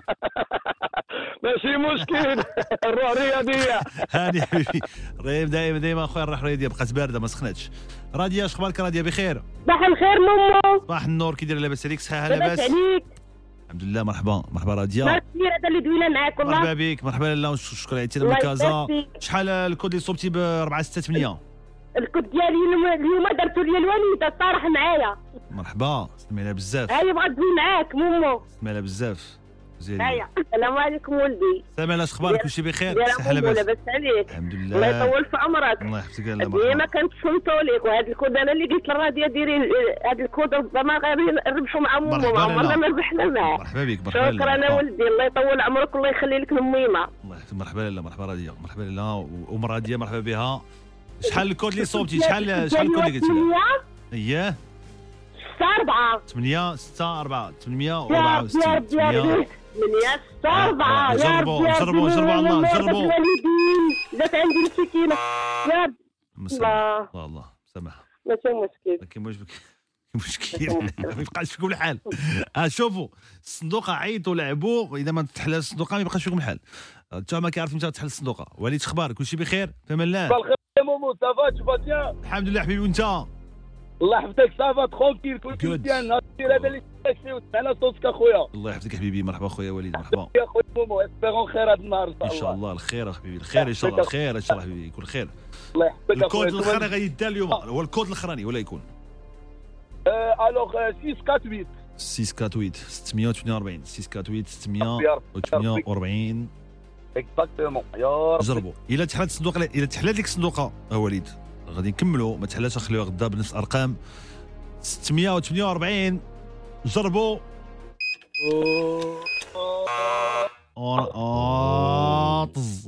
ماشي مشكل. الروح رياضية.
هاني حبيبي. دايما اخويا الروح رياضية. بقات باردة ما سخنتش. راديا اش اخبارك؟ راديا بخير؟
صباح الخير ماما.
صباح النور. كي داير؟ لاباس عليك؟ صحة لاباس؟
لاباس عليك؟
الحمد لله. مرحبا راديا.
هذا اللي دوينا معاك والله.
مرحبا بك. مرحبا لاله. شكرا عيطتي من كازا. شحال الكود اللي صوبتي ب 4 6 8؟
الكود ديالي اليوم درتو لي الوالده صراحه معايا.
مرحبا سمعنا بزاف.
هاي بغات تجي معاك مومو.
سمعنا بزاف.
هيا السلام عليكم ولدي.
سامع اخبارك كلشي بخير؟
صحه لاباس؟ لاباس عليك؟
الحمد لله.
الله يطول في عمرك.
الله يحفظك الله مرحبا.
ديما كنتصنتوا لك وهذا الكود انا اللي قلت للراديو ديري هذا الكود ربما غير نربحوا مع مومو عمرنا ما ربحنا معاه.
مرحبا بك. مرحبا.
شكرا ولدي الله يطول عمرك والله يخلي لك الميمه.
الله يحفظك. مرحبا لاله. مرحبا راديه. مرحبا لاله وام راديه مرحبا بها. شحال الكود اللي صوبتي؟ شحال الكود اللي قلتي لها؟ اييه
4
8 6 4 864 8
8 6 4
جربوا الله جربوا.
جات عندي السكينه يا
الله سامح.
ماشي مشكل.
كاين مشكل ما يبقاش فيكم الحال. شوفوا الصندوقه عيطوا لعبوا اذا ما تحل الصندوقه ما يبقاش فيكم الحال. انت ما كيعرف متى تحل الصندوقه. وليد اخبارك كلشي بخير؟ في امان الله.
بالخير يا مومو صافا تشوفا بيان.
الحمد لله حبيبي وانت؟
الله يحفظك صافا ترونكيل كلشي مزيان. هذا اللي تاكسي وسمعنا صوتك اخويا.
الله يحفظك حبيبي. مرحبا خويا وليد. مرحبا
يا خويا مومو اسبيرون خير هذا النهار
ان شاء الله. الخير حبيبي الخير ان شاء الله. الخير ان شاء الله حبيبي يكون خير.
الله يحفظك.
الكود الاخراني غادي يدار اليوم هو الكود الاخراني ولا يكون
الوغ 648
648 648 648 648
اكزاكتومون. يا رب
جربوا. الا تحلات الصندوق الا تحلات لك الصندوقه وليد غادي نكملوا. ما تحلاش نخليوها غدا بنفس الارقام 648. جربوا. طز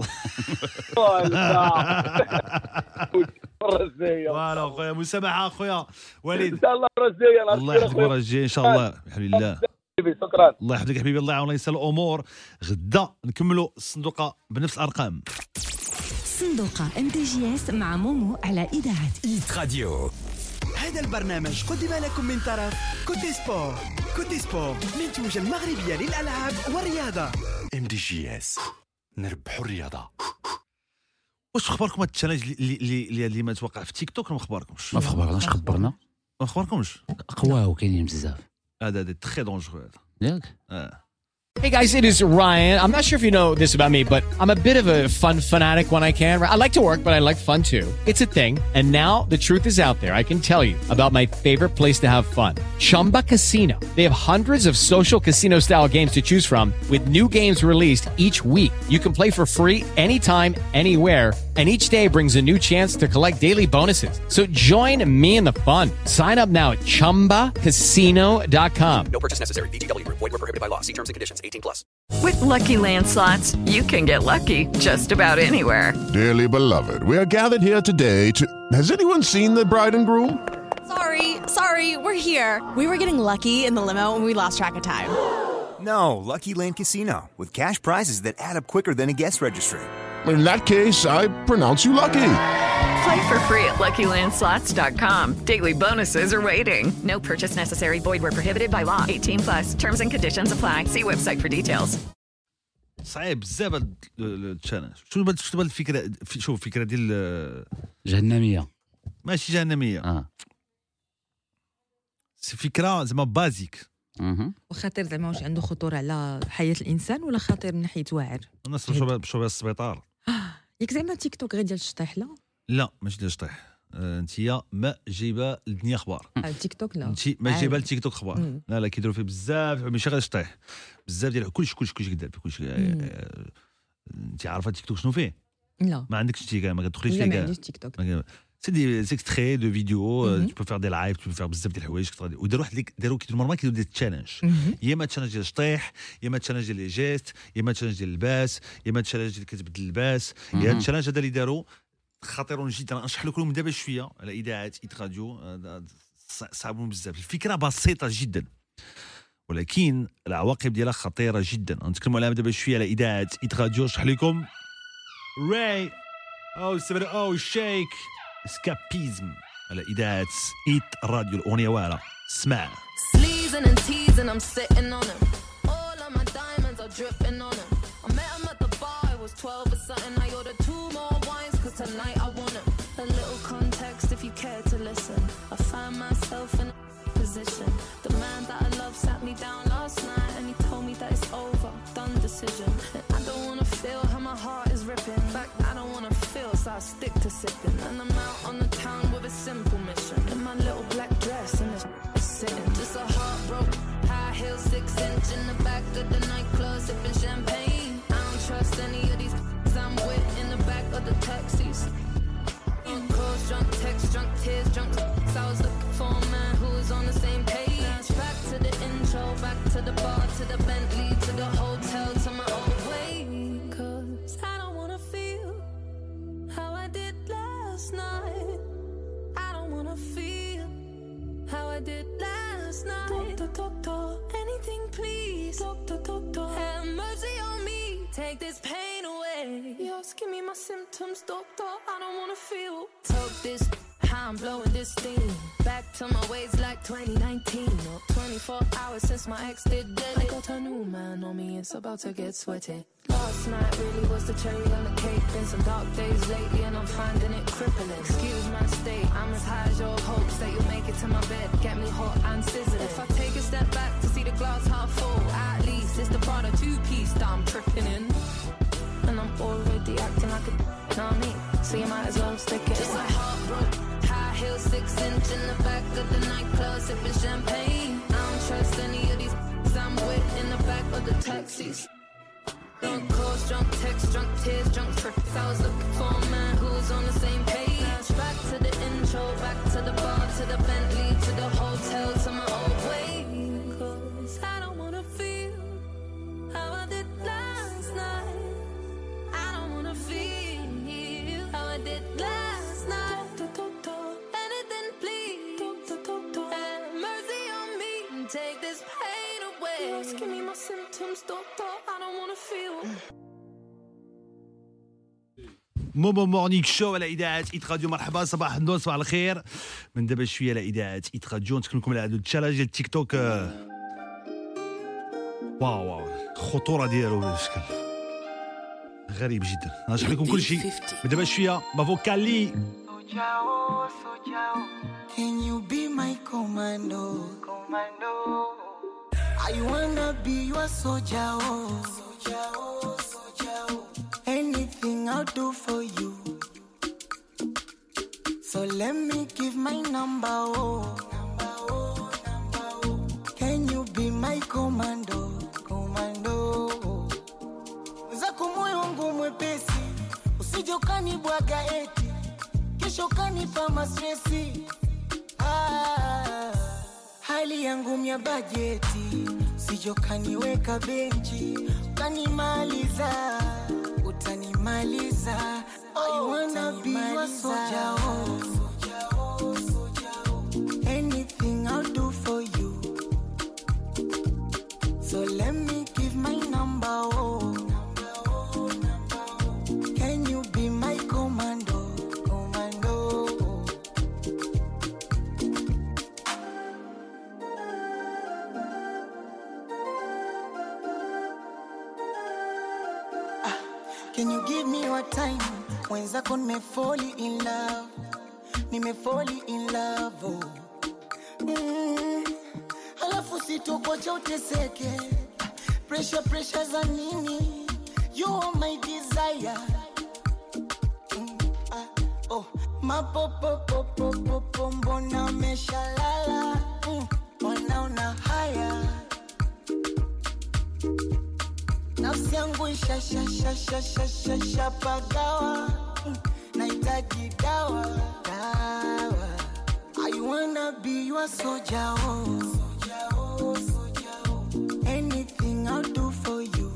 فوالا خويا. مسامحه خويا وليد
ان شاء الله الرجايه.
الله يحفظك الرجايه ان شاء الله. الحمد لله.
شكرا.
الله يحفظك حبيبي. الله يعاون يسهل الامور. غدا نكملوا الصندوقه بنفس الارقام.
صندوقة MDJS مع مومو على إذاعة
إيت راديو. هذا البرنامج قدم لكم من طرف كوتي سبور. كوتي سبور منتوجة المغربية للألعاب والرياضة.
MDJS نربحوا الرياضة.
واش اخباركم هاد التشالنج اللي ما توقع في تيك توك؟ ما اخباركمش؟
ما خبرناش. خبرنا
ما اخباركمش؟
قواه وكاينين بزاف.
هذا تري دونجرو هذا
ياك.
Hey guys, it is Ryan. I'm not sure if you know this about me, but I'm a bit of a fun fanatic when I can. I like to work, but I like fun too. It's a thing. And now the truth is out there. I can tell you about my favorite place to have fun. Chumba Casino. They have hundreds of social casino style games to choose from with new games released each week. You can play for free anytime, anywhere. And each day brings a new chance to collect daily bonuses. So join me in the fun. Sign up now at ChumbaCasino.com.
No purchase necessary. VGW Group. Void where prohibited by law. See terms and conditions. 18+.
With Lucky Land Slots, you can get lucky just about anywhere.
Dearly beloved, we are gathered here today to... Has anyone seen the bride and groom?
Sorry, we're here. We were getting lucky in the limo and we lost track of time.
No, Lucky Land Casino. With cash prizes that add up quicker than a guest registry.
In that case, I pronounce you lucky.
Play for free at LuckyLandSlots.com. Daily bonuses are waiting. No purchase necessary. Void where prohibited by law. 18+. Terms and conditions apply. See website for details.
صعيب بزاف هذا التشالنج. شنو الفكره؟ شوف الفكره ديال
جهنميه.
ماشي جهنميه. فكره زعما بازيك.
وخطير زعما واش عنده خطوره على حياه الانسان ولا خطير من ناحيه واعر؟
الناس مشاو بها السبيطار.
ياك زعما تيك توك غير ديال الشطيح؟
لا ماشي ديال الشطيح. انتيا ما جايبه الدنيا اخبار.
تيك توك لا.
انت ما جايبه لتيك توك اخبار. لا كيديروا فيه بزاف ماشي غير الشطيح. بزاف ديال كلشي كدير كلشي. انت عارفه تيك توك شنو فيه؟
لا
ما عندكش تيك ما كتدخليش
فيه. لا ما عنديش تيك توك.
سي دي اكستري دو فيديو. تو فير دي لايف تو فير بزاف ديال الحوايج. وداروا واحد داروا كيديروا نورمال كيديروا دي تشالنج. يا اما تشالنج ديال الشطيح، يا اما تشالنج ديال لي جيست، يا اما تشالنج ديال اللباس، يا اما تشالنج ديال كتبدل اللباس. يا التشالنج هذا اللي داروا خطيرون جدا. نشرح لكم دابا شويه على اذاعه ايت راديو. صعبون بزاف. الفكره بسيطه جدا ولكن العواقب ديالها خطيره جدا. نتكلموا عليها دابا شويه على اذاعه ايت راديو. نشرح لكم راي او شيك اسكابيزم على اذاعه ايت راديو. الاغنيه واعره اسمع.
Sleezing and teasing, I'm sitting on him. All of my diamonds are dripping on him. I met him at the bar, I was 12 or something. I ordered 2 more wines, cause tonight I want him. A little context if you care to listen. I find myself in a position. The man that I love sat me down last night and he told me that it's over, done decision. And I don't wanna feel how my heart is ripping. In fact, I don't wanna feel, so I stick to sipping. And I'm out on the town inch in the back of the nightclub sipping champagne. I don't trust any of these I'm with in the back of the taxis. Drunk calls, drunk texts, drunk tears, drunk I was looking for a man who was on the same page. Back to the intro, back to the bar, to the Bentley, to the hotel, to my old way. Cause I don't wanna feel how I did last night. I don't wanna feel how I did last night. Doctor, anything please. Doctor, have mercy on me. Take this pain away. Yours, give me my symptoms, doctor. I don't wanna feel. Talk this, how I'm blowing this steam. Back to my ways like 2019. Or 24 hours since my ex did dead. I got a new man on me, it's about to get sweaty. Last night really was the cherry on the cake. Been some dark days lately and I'm finding it crippling. Excuse my state, I'm as high as your hopes that you'll make it to my bed. Get me hot and sizzling. If I take a step back to see the glass half full, at least it's the Prada two-piece that I'm tripping in. And I'm already acting like a know what I mean? So you might as well stick it. Just my heart broke. High heels, 6 inch in the back of the nightclub sipping champagne. I don't trust any of these I'm with in the back of the taxis. Drunk calls, drunk texts, drunk tears, drunk trips. I was looking for a man who was on the same page. Back to the intro, back to the bar, to the Bentley, to the hotel, to my old way. Cause I don't wanna feel how I did last night. I don't wanna feel how I did last night. Anything please. Have mercy on me and take this pain away. Just give me my symptoms, doctor. I don't wanna feel.
مومو مورنينغ شو على اذاعه ايت راديو. مرحبا، صباح النور، صباح الخير. من دابا شويه على اذاعه ايت راديو نتكلم لكم على هذا التشالنج ديال التيك توك. واو الخطوره ديالو بشكل غريب جدا. نشرح لكم كل شيء من دابا شويه. مافوكالي.
Can you be my commando? I wanna be your soldier, anything I'll do for you. So let me give my number, Can you be my commando? Zako moyo wangu mwepesi, usije ukanibwaga eti kesho kanipa mastresi. Hali yangu mya bajeti, usije ukaniweka benchi, utanimaliza. I wanna be your soldier, anything I'll do for you. So let me give my number, Can you be my commando? Can you give me your time? Mwenzako nimefall in love, Alafu sitokocha uteseke, pressure za nini? You are my desire. Mapopo mbona umeshalala? Wanaona haya, nafsi yangu ishapagawa, nahitaji dawa. I wanna be your soldier, anything I'll do for you.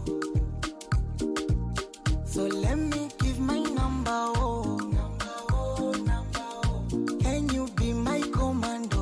So let me give my number, Can you be my commando?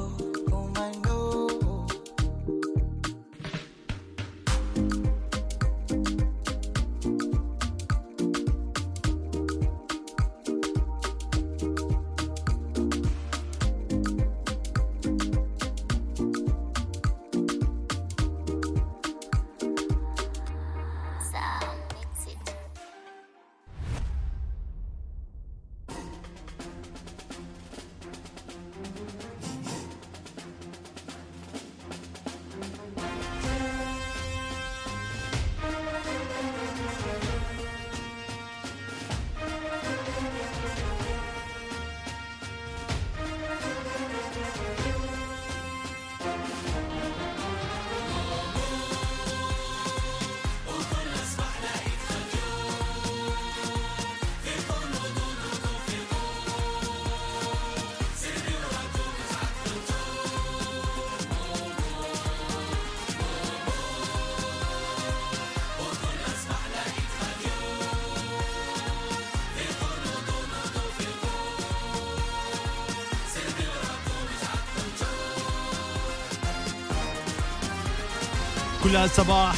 كلها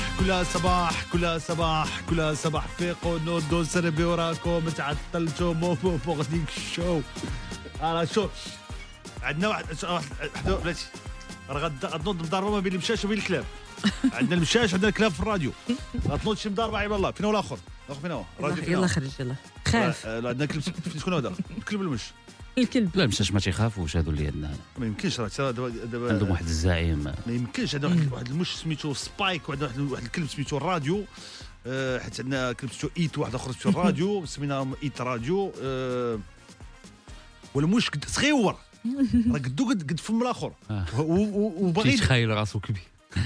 صباح فيقوا نوضوا سربيوا راكم تعطلتوا موفو فوق ديك الشو. شوف عندنا واحد بلاتي راه غتنوض مضاربه ما بين المشاش وبين الكلاب. عندنا المشاش عندنا الكلاب في الراديو. غتنوض شي مضاربه عيب الله. فين هو الاخر؟ فين هو؟
يلا خرج يلا خاف.
عندنا كلب. شكون هذا؟ الكلب ولا المش؟
الكلب.
لا المشاش ما تيخافوش هادو اللي عندنا.
ما يمكنش راه دابا
عندهم واحد الزعيم.
ما يمكنش. عندنا واحد المش سميتو سبايك وعندنا واحد الكلب سميتو الراديو. حيت عندنا كلب سميتو ايت واحد اخر سميتو الراديو سميناهم ايت راديو. والمش صغيور راه قد فم الاخر وباغي
يتخيل راسو كبير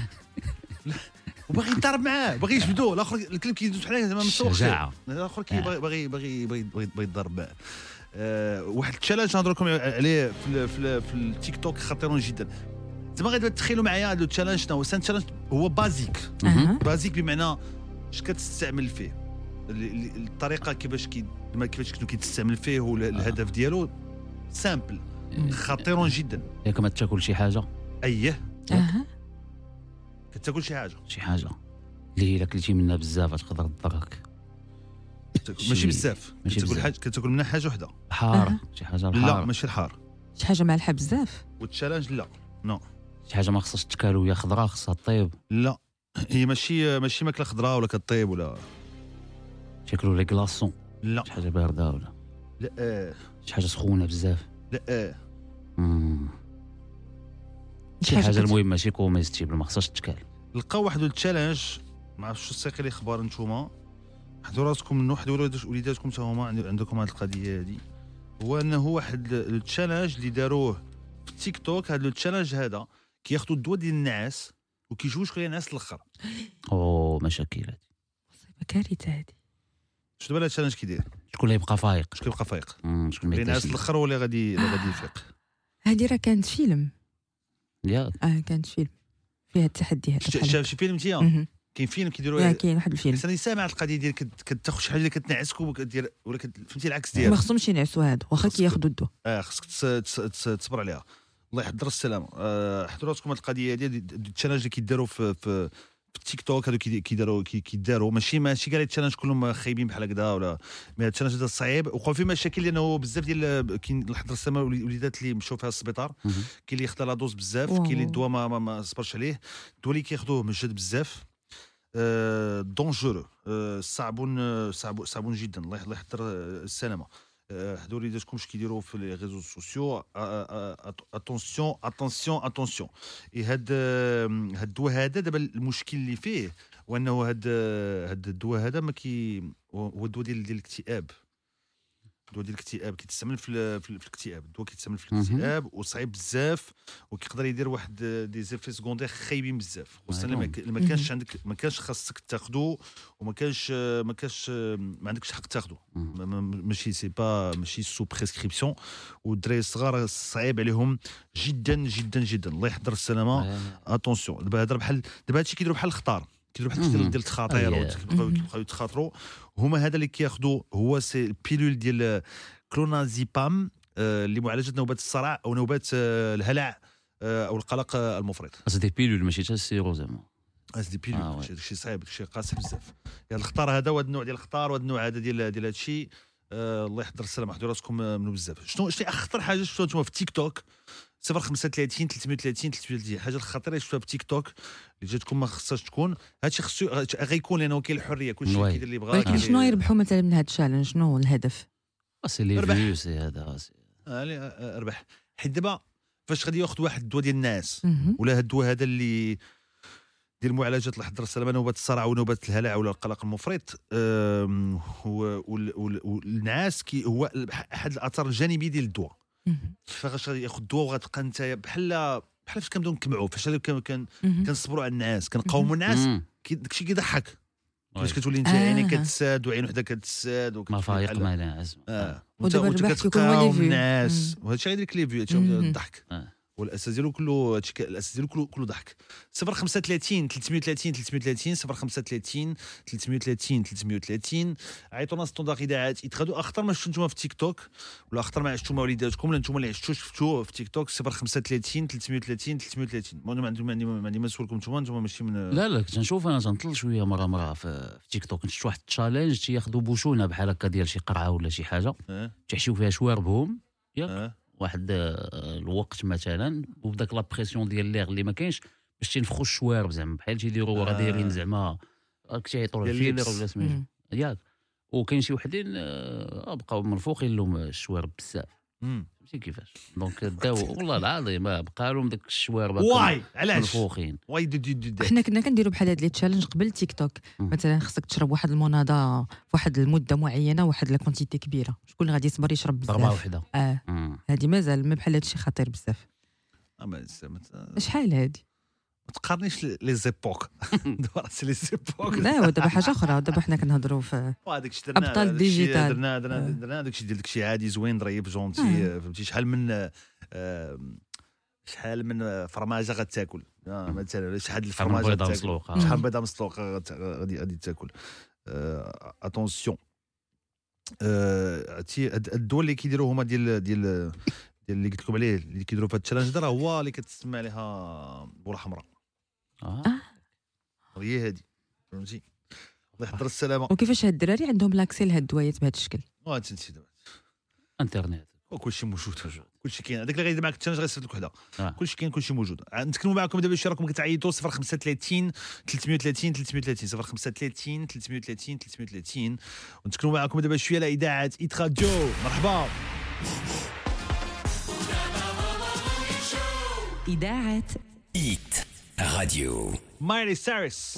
وباغي يضرب معاه باغي يجبدو. الاخر الكلب كيدوز بحال زعما مسوق
شجاعه.
الاخر باغي يضرب معاه. واحد التشالنج نهضر لكم عليه في التيك توك خطير جدا. زعما غادي تخيلوا معايا هذا التشالنج هو تشالنج هو بازيك. بازيك بمعنى اش كتستعمل فيه الطريقه كيفاش كنتو كيتستعمل فيه والهدف ديالو سامبل خطير جدا.
ياك ما تاكل شي حاجه
كتاكل شي حاجه
اللي الا كلتي منها بزاف تقدر تضرك.
ماشي بزاف كتاكل حاجه كتاكل منها حاجه وحده
حاره. شي حاجه الحار.
لا ماشي الحار.
شي حاجه مالحه بزاف.
والتشالنج لا نو.
شي حاجه ما خصهاش تكال وهي خضراء خصها طيب.
لا هي ماشي ماكله خضراء ولا كطيب ولا
تاكلوا لي كلاصون.
لا
شي حاجه بارده ولا
لا
شي حاجه سخونه بزاف.
لا
شي حاجه المهم ماشي كوميستيبل ما خصهاش تكال.
لقاو واحد التشالنج ما عرفتش الساقي لي اخبار نتوما حضروا راسكم منو حضروا وليداتكم حتى هما عندكم هذه القضيه هذه. هو انه واحد التشالنج اللي داروه في تيك توك. هذا التشالنج هذا كياخذوا الدواء ديال النعاس وكيجيو شكون الناس الاخر.
مشاكل هذه
مصيبه كارثه هذه.
شنو دابا التشالنج كيدير؟
شكون اللي يبقى فايق؟
شكون اللي الناس الاخر ولا غادي يفيق؟
هذه راه كانت فيلم
ياك
كانت فيلم فيها التحدي هذا.
شاف شي فيلم انت؟ كاين فيلم كيديروا
كاين واحد الفيلم
انا سامع القضيه ديال كتاخذ شي حاجه اللي كتنعسك وكدير ولا فهمتي العكس ديالها.
ما خصهمش ينعسوا هادو واخا كياخذوا الدواء.
خصك تصبر عليها. الله يحضر السلامه. حضروا راسكم هذه القضيه ديال التشالنج اللي كيداروا في التيك توك. هادو كيداروا ماشي كاع التشالنج كلهم خايبين بحال هكذا ولا. مي التشالنج هذا صعيب وقعوا فيه مشاكل لانه بزاف ديال كاين الحضر السلامه وليدات اللي مشاو فيها السبيطار. كاين اللي خدا لا دوز بزاف كاين اللي الدواء ما صبرش عليه. الدواء اللي كياخذوه مجهد بزاف دونجورو. صعبون جدا. الله يحضر السلامه. هادو وليداتكم اش كيديروا في لي ريزو سوسيو. اتونسيون هاد الدواء هذا دابا المشكل اللي فيه وانه هاد الدواء هذا ما هو الدواء ديال الاكتئاب. الدواء ديال الاكتئاب كيتستعمل في الاكتئاب. الدواء كيتستعمل في الاكتئاب وصعيب بزاف وكيقدر يدير واحد دي زيفي سكوندير خايبين بزاف خصوصا ما كانش عندك ما كانش خاصك تاخذو وما عندكش حق تاخذو. ماشي ماشي سو بريسكريبسيون. والدراري الصغار صعيب عليهم جدا جدا جدا. الله يحضر السلامه. اتونسيون دابا دابا هادشي كيديروا بحال الخطار. كيديروا بحال ديال التخاطير وكيبقاو يتخاطروا. هما هذا اللي كياخذوا هو سي البيلول ديال كلونازيبام اللي معالجه نوبات الصرع او نوبات الهلع او القلق المفرط.
دي بيلول ماشي حتى السيرو زعما.
دي بيلول شي صعيب شي قاسي بزاف. يعني الخطار هذا وهذا النوع ديال الخطار وهذا النوع هذا ديال هذا الشيء. الله يحضر السلامه. حضروا راسكم منو بزاف. شنو اخطر حاجه شفتوها نتوما في تيك توك؟ 035 330 330 حاجه الخطيره شفتوها في تيك توك اللي جاتكم ما خصهاش تكون. هادشي خصو غيكون لانه كاين الحريه كلشي كيدير اللي بغا.
ولكن شنو يربحوا مثلا من هذا التشالنج؟ شنو هو الهدف؟
سي لي فيو سي هذا
ربح. حيت دابا فاش غادي ياخذ واحد الدواء ديال الناس ولا هاد الدواء هذا اللي ديال معالجه الحضر السلامه نوبات الصرع ونوبات الهلع ولا القلق المفرط. والنعاس هو احد الاثار الجانبيه ديال الدواء. فاش غادي ياخذ الدواء وغتبقى انت بحال فاش كنبداو نكمعوا فاش كنصبروا على الناس كنقاوموا الناس داكشي كيضحك. فاش كتولي انت عينيك كتساد وعين وحده كتساد
ما فايق ما ناعس
وانت كتقاوم الناس وهادشي غيدير لك لي فيو الضحك. والاساس ديالو كله هادشي الاساس ديالو كله ضحك. 035 330 330 035 330 330. عيطونا ستوندار اذاعات يتغادوا اخطر ما شفتوا نتوما في تيك توك ولا اخطر ما عشتوا مع وليداتكم ولا نتوما اللي عشتوا شفتوه في تيك توك. 035 330 330. ما عندي ما نسولكم نتوما ماشي من
لا كنت نشوف انا تنطل شويه مره في تيك توك نشوف واحد التشالنج تياخذوا بوشونه بحال هكا ديال شي قرعه ولا شي حاجه تيحشيو فيها شواربهم ياك واحد الوقت مثلا وبداك لا بريسيون ديال ليغ اللي ما كاينش باش تنفخوا الشوارب زعما بحال تيديروا راه دايرين زعما راك تيعيطوا الفيلر ولا سميتو ياك. وكاين شي وحدين بقاو منفوخين لهم الشوارب بزاف ماشي كيفاش دونك داو والله العظيم بقى لهم داك الشوارب
واي علاش
منفوخين.
واي
حنا كنا كنديروا بحال هاد لي تشالنج قبل تيك توك. مثلا خصك تشرب واحد المناضه في واحد المده معينه واحد لا كونتيتي كبيره. شكون غادي يصبر يشرب بزاف
ضربه وحده
هادي مازال ما بحال هادشي خطير بزاف. شحال هادي
ما تقارنيش لي زيبوك دابا سي لي زيبوك.
لا دابا حاجه اخرى. دابا حنا كنهضروا في ابطال الديجيتال.
درنا داكشي ديال داكشي عادي زوين ظريف جونتي فهمتي. شحال من فرماجه غتاكل مثلا شحال الفرماجه غتاكل شحال بيضه مسلوقه غادي تاكل. اتونسيون الدول اللي كيديروا هما ديال اللي قلت لكم عليه اللي كيديروا في هاد التشالنج راه هو اللي كتسمى عليها بوله حمراء. هي هادي فهمتي. الله يحضر السلامه.
وكيفاش هاد الدراري عندهم لاكسي لهاد الدوايات بهذا الشكل؟
تنسي دابا
انترنت
وكلشي موجود كلشي كاين. هذاك اللي غيدير معاك التشالنج غيصيفط لك وحده كلشي كاين كلشي موجود. نتكلموا معكم دابا شي راكم كتعيطوا 035 330 330 035 330 330 ونتكلموا معكم دابا شويه على اذاعه ايت راديو. مرحبا
إذاعة
إيت راديو.
مايلي سايرس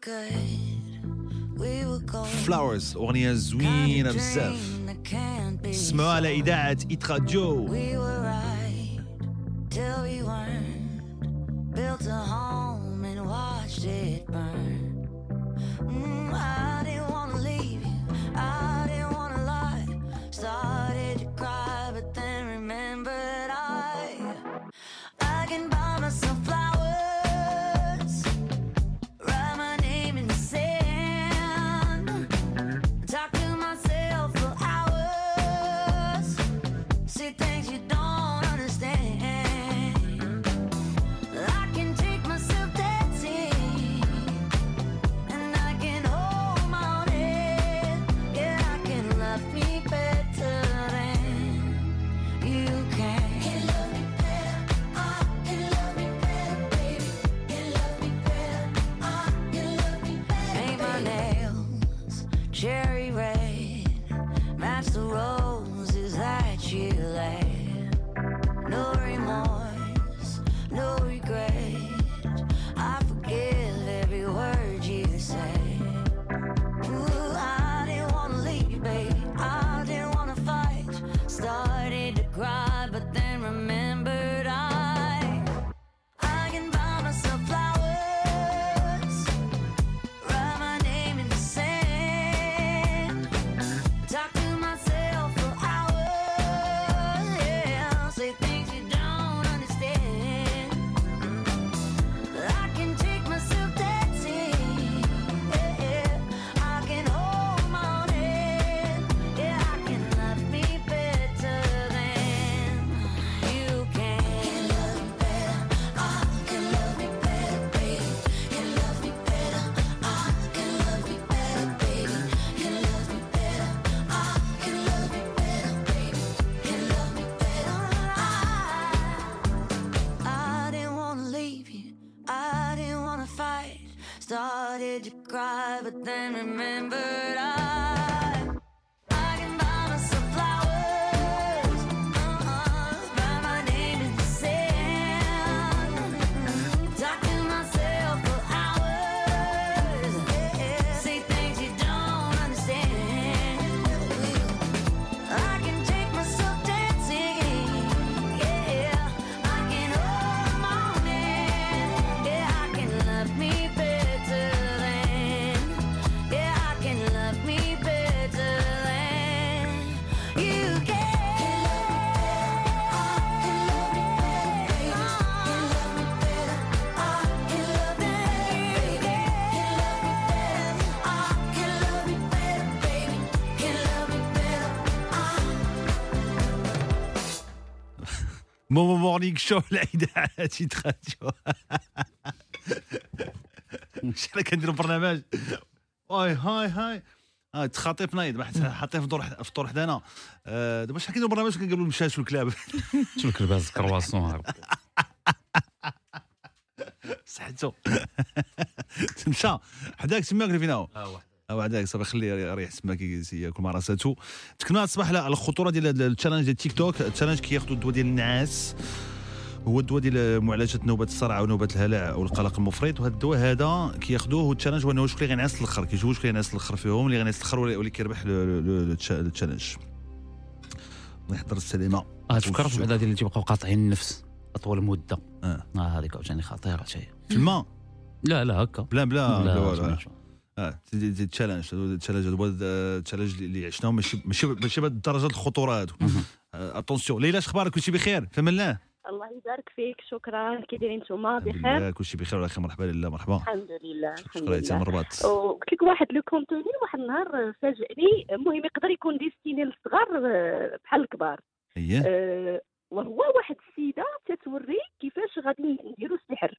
فلاورز أغنية زوينة بزاف. اسمعوها على إذاعة إيت راديو.
Started to cry, but then remembered I can buy myself flowers, write my name in the sand, talk to myself for hours, say things you don't understand. I can take myself dancing, I can hold my own hand, I can love me better than, I can love me better.
مومو مورنينغ شو الاذاعات يتراديو شحال كنديروا برنامج هاي تخاطيف نايض ما حاطين في الدور حدانا دابا شحال كنديروا برنامج كنقولوا المشاش والكلاب
شو الكلاب هذا الكرواسون
صحتو تمشى حداك تما قال فينا وحداك صافي خليه ريح تما كياكل مع راساتو. تكلمنا الصباح على الخطوره ديال التشالنج ديال تيك توك. التشالنج كياخذوا الدواء ديال النعاس، هو الدواء ديال معالجه نوبات الصرع ونوبات الهلع او القلق المفرط، وهذا الدواء هذا كياخذوه. والتشالنج هو انه شكون اللي غينعس الاخر، كيشوفوا شكون اللي غينعس الاخر فيهم، اللي غينعس الاخر واللي كيربح التشالنج. الله يحضر السلامه.
تفكر في بعدا ديال اللي تيبقاو قاطعين النفس اطول مده. هذيك عاوتاني خطيره شي
في الماء.
لا هكا
بلا التشالنج هو التشالنج اللي عشناه ماشي بهذه الدرجه الخطوره هادو. اتونسيون. ليلى اخبارك؟ كلشي بخير؟ فما الله.
الله يبارك فيك. شكرا. كي دايرين نتوما؟ بخير؟
كلشي بخير وعلى خير. مرحبا لله. مرحبا.
الحمد لله.
شكرا يا مرباط.
وقلت لك واحد لو كونتوني واحد النهار فاجئني. المهم يقدر يكون ديستيني للصغار بحال الكبار. وهو واحد السيده تتوري كيفاش غادي نديروا السحر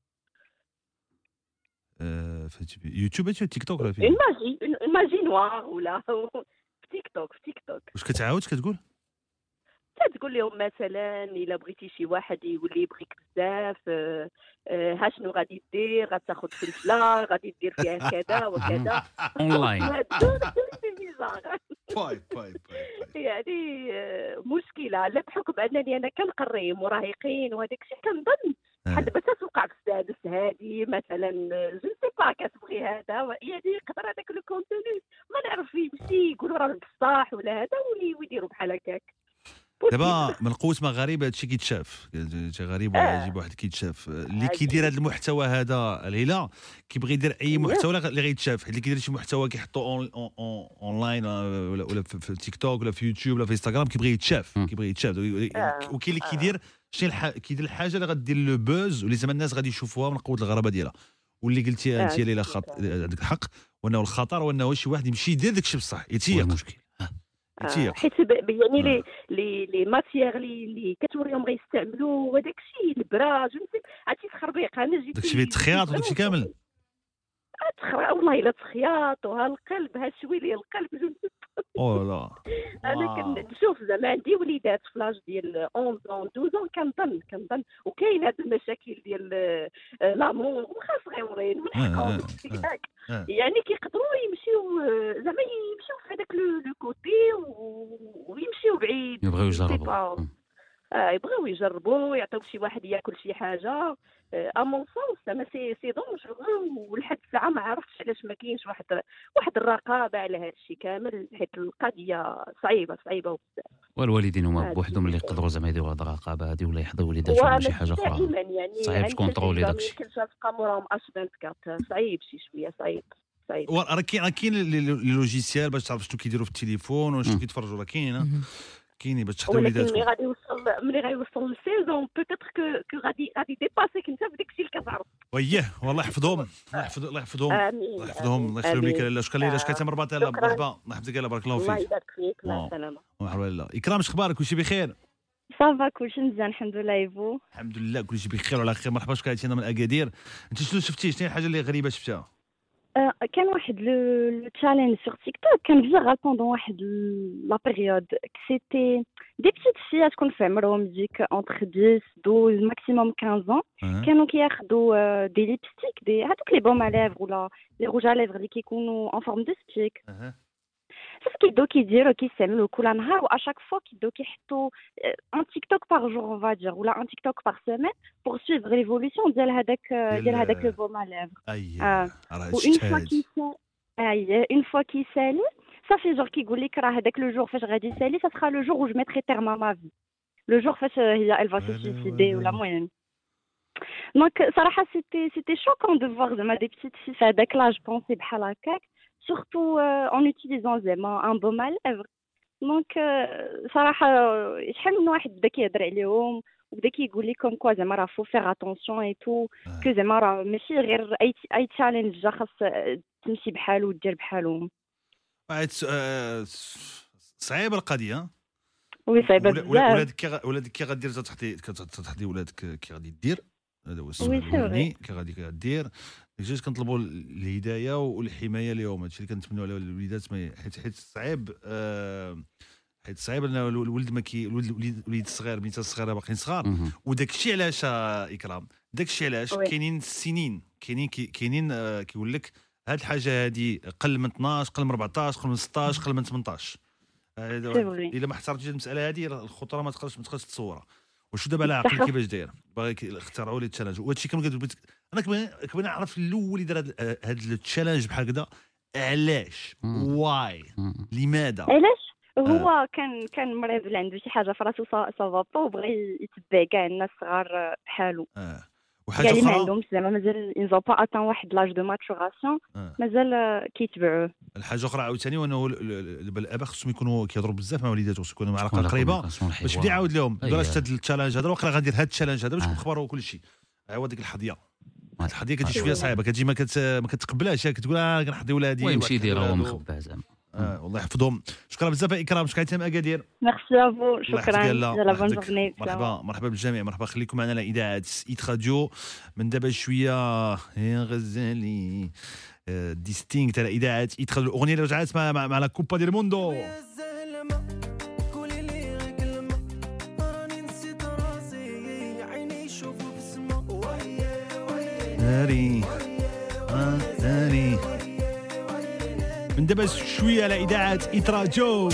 في يوتيوب ولا تيك توك ولا في
الماجي نوار ولا في تيك توك.
واش كتعاود كتقول
تقول لهم مثلا الا بغيتي شي واحد يولي يبغيك بزاف ها شنو غادي دير؟ غتاخذ فلفله غادي دير فيها كذا وكذا
اونلاين.
يعني مشكله لا بحكم انني انا كنقري مراهقين وهذاك الشيء كنظن بحال دابا توقع في السادس هذه مثلا جو سي با كتبغي هذا يعني يقدر هذاك لو كونتوني ما نعرف يمشي يقولوا راه بصح ولا هذا ويديروا بحال هكاك.
دابا من قوه ما غريب هادشي كيتشاف غريب ولا يجيب واحد كيتشاف اللي كيدير هذا المحتوى هذا الهيله كيبغي يدير اي محتوى اللي غيتشاف، حيت اللي كيدير شي محتوى كيحطو اونلاين ولا في تيك توك ولا في يوتيوب ولا في انستغرام كيبغي يتشاف وكاين اللي كيدير شنو كيدير الحاجه اللي غدير لو بوز واللي زعما الناس غادي يشوفوها من قوه الغرابه ديالها. واللي قلتي انت ليلى عندك الحق، وانه الخطر وانه شي واحد يمشي يدير داكشي بصح يتيق
المشكل.
حيت يعني لي ماتيير اللي كتوريهم غيستعملوا وداك الشيء البراج عرفتي تخربيق. انا جيت
داكشي فيه تخياط وداكشي كامل
والله الا تخياط وها القلب ها شويه ديال القلب
لا
انا كنشوف زعما عندي وليدات في لاج ديال 11 12 كنظن وكاين هاد المشاكل ديال لامور واخا صغيورين من حقهم يعني كيقدروا يمشيو زعما يمشيو في هذاك لو كوتي ويمشيو بعيد
يبغيو يجربوا
يبغيو يجربوا يعطيوك شي واحد ياكل شي حاجه امون سونس زعما سي دونجورو. ولحد الساعه ما عرفتش علاش ما كاينش واحد الرقابه على هذا الشيء كامل، حيت القضيه صعيبه بزاف.
والوالدين هما بوحدهم اللي يقدروا زعما يديروا هذه الرقابه هذه ولا يحضروا وليداتهم شي حاجه اخرى.
يعني
صعيب تكونترولي داكشي.
يمكن تبقى موراهم اش24 صعيب شي شويه صعيب.
راه كاين لي لوجيسيال باش تعرف شنو كيديروا في التليفون وشنو كيتفرجوا. راه كاينين باش تحضر وليداتكم.
ملي غيوصل للسيزون بوتيتر كو غادي ديباسيك انت في داكشي اللي كتعرف.
والله يحفظهم الله يحفظهم الله يخليهم لك. لا شكرا ليلى شكرا مرباط. يلا مرحبا الله يحفظك. يلا بارك الله فيك.
الله يبارك فيك. مع السلامه.
مرحبا لله. اكرام اخبارك؟ كلشي بخير؟
صافا كلشي مزيان الحمد لله. يفو
الحمد لله كلشي بخير وعلى خير. مرحبا. شكرا لك من اكادير. انت شنو شفتي؟ شنو الحاجه اللي غريبه شفتها؟
كان واحد لو تشالنج سور تيك توك كان فيرال بوندون واحد لا بيريود سيتي دي بيتيت فيات تكون في عمرهم ديك اونتر 10 12 ماكسيموم 15 كانوا كياخذوا دي ليبستيك دي هذوك لي بوم اليفر ولا لي روج اليفر اللي كيكونوا اون فورم دو ستيك. صافي كيبداو كيديروا كيستعملوا كل نهار واشاك فوا كيبداو كيحطوا ان تيك توك بار جور اون فادير ولا ان تيك توك بار سيمين بور سويفر ليفولوسيون ديال هذاك لو بوم اليفر. اون فوا كيسالي صافي جور كيقول لك راه هذاك لو جور فاش غادي يسالي ça sera le jour où je mettrai terme à ma vie. لو جور فاش هي elle va se suicider ولا المهم. دونك صراحه c'était choquant de voir زعما des petites filles في هذاك لاج بونسي بحال هكاك surtout en utilisant un baume à lèvres. Donc صراحه شحال من واحد بدا كيهضر عليهم وبدا كيقول لكم كوا زعما راه فو فيغ اتونسيون اي تو كو زعما راه ماشي غير اي تشالنج جا خاص تمشي بحالو ودير بحالهم.
صعيبه القضيه
وي صعيبه بزاف.
ولادك كي غدير تحدي ولادك كي غادي دير هذا هو السؤال
وي
الاولاني كي غادي كدير جوج كنطلبوا الهدايه والحمايه لهم. هادشي اللي كنتمنوا على الوليدات حيت صعيب حيت صعيب ان الولد ما كي الوليد الصغير بنيته الصغيره باقيين صغار. وداك الشيء علاش اكرام داك الشيء علاش كاينين السنين كاينين كيقول لك هاد الحاجه هادي قل من 12 قل من 14 قل من 16 قل من 18. الا ما احترمتيش المساله هذه الخطوره ما تقدرش تصورها. وشو دابا على عقل كيفاش داير باغي اخترعوا لي التشالنج. وهادشي انا كنبغي نعرف الاول اللي دار هاد التشالنج بحال هكذا علاش واي لماذا
علاش هو كان مريض اللي عنده شي حاجه في راسو صافابا وبغى يتبع كاع الناس صغار بحالو.
وحاجه
اخرى
ما
عندهمش زعما مازال انزو با اتان واحد لاج دو ماتوراسيون مازال كيتبعوه.
الحاجه اخرى عاوتاني وانه الاباء خصهم يكونوا كيهضروا بزاف مع وليداتهم خصهم يكونوا مع علاقه قريبه باش بدا يعاود لهم بلاش هذا التشالنج هذا واقيلا غادير هذا التشالنج هذا باش نخبروا كل شيء. هو ديك الحظيه الحظيه كتجي شويه صعيبه كتجي ما كتقبلهاش كتقول كنحضي ولادي
ويمشي يديرهم مخبع زعما.
والله يحفظهم. شكرا بزاف اكرام شكرا حتى اكادير.
ميرسي افو شكرا.
مرحبا بالجميع. مرحبا خليكم معنا على اذاعه ايت راديو من دابا شويه يا غزالي ديستينكت على اذاعه ايت راديو. الاغنيه اللي رجعت مع لا كوبا ديال موندو. داري من دابا شويه على اذاعه ايت راديو.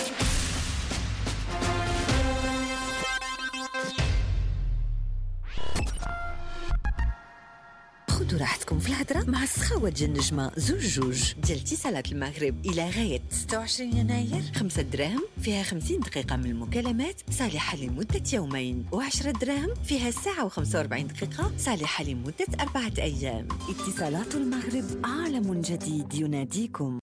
خذوا راحتكم في الهضره مع السخاوه ديال النجمه زوج ديال اتصالات المغرب الى غايه 26 يناير. 5 دراهم فيها 50 دقيقه من المكالمات صالحه لمده يومين، و10 دراهم فيها ساعه و45 دقيقه صالحه لمده 4 ايام. اتصالات المغرب عالم جديد يناديكم.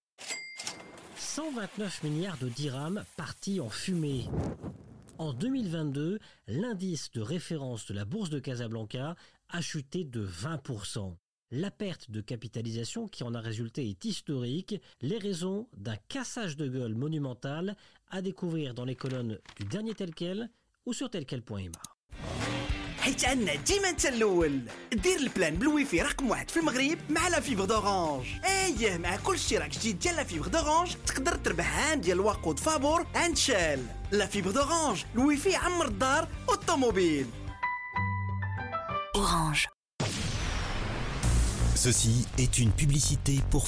129 milliards de dirhams partis en fumée. En 2022, l'indice de référence de la bourse de Casablanca a chuté de 20%. La perte de capitalisation qui en a résulté est historique. Les raisons d'un cassage de gueule monumental à découvrir dans les colonnes du dernier tel quel ou sur telquel.ma.
حيت عندنا ديما انت الاول. دير البلان بالويفي رقم 1 في المغرب مع لا فيبر دورانج. ايه مع كل اشتراك جديد ديال لا فيبر دورانج تقدر تربح عام ديال الوقود فابور عند شال. لا فيبر دورانج الويفي عمر الدار والطوموبيل.
Orange.
Ceci est une publicité pour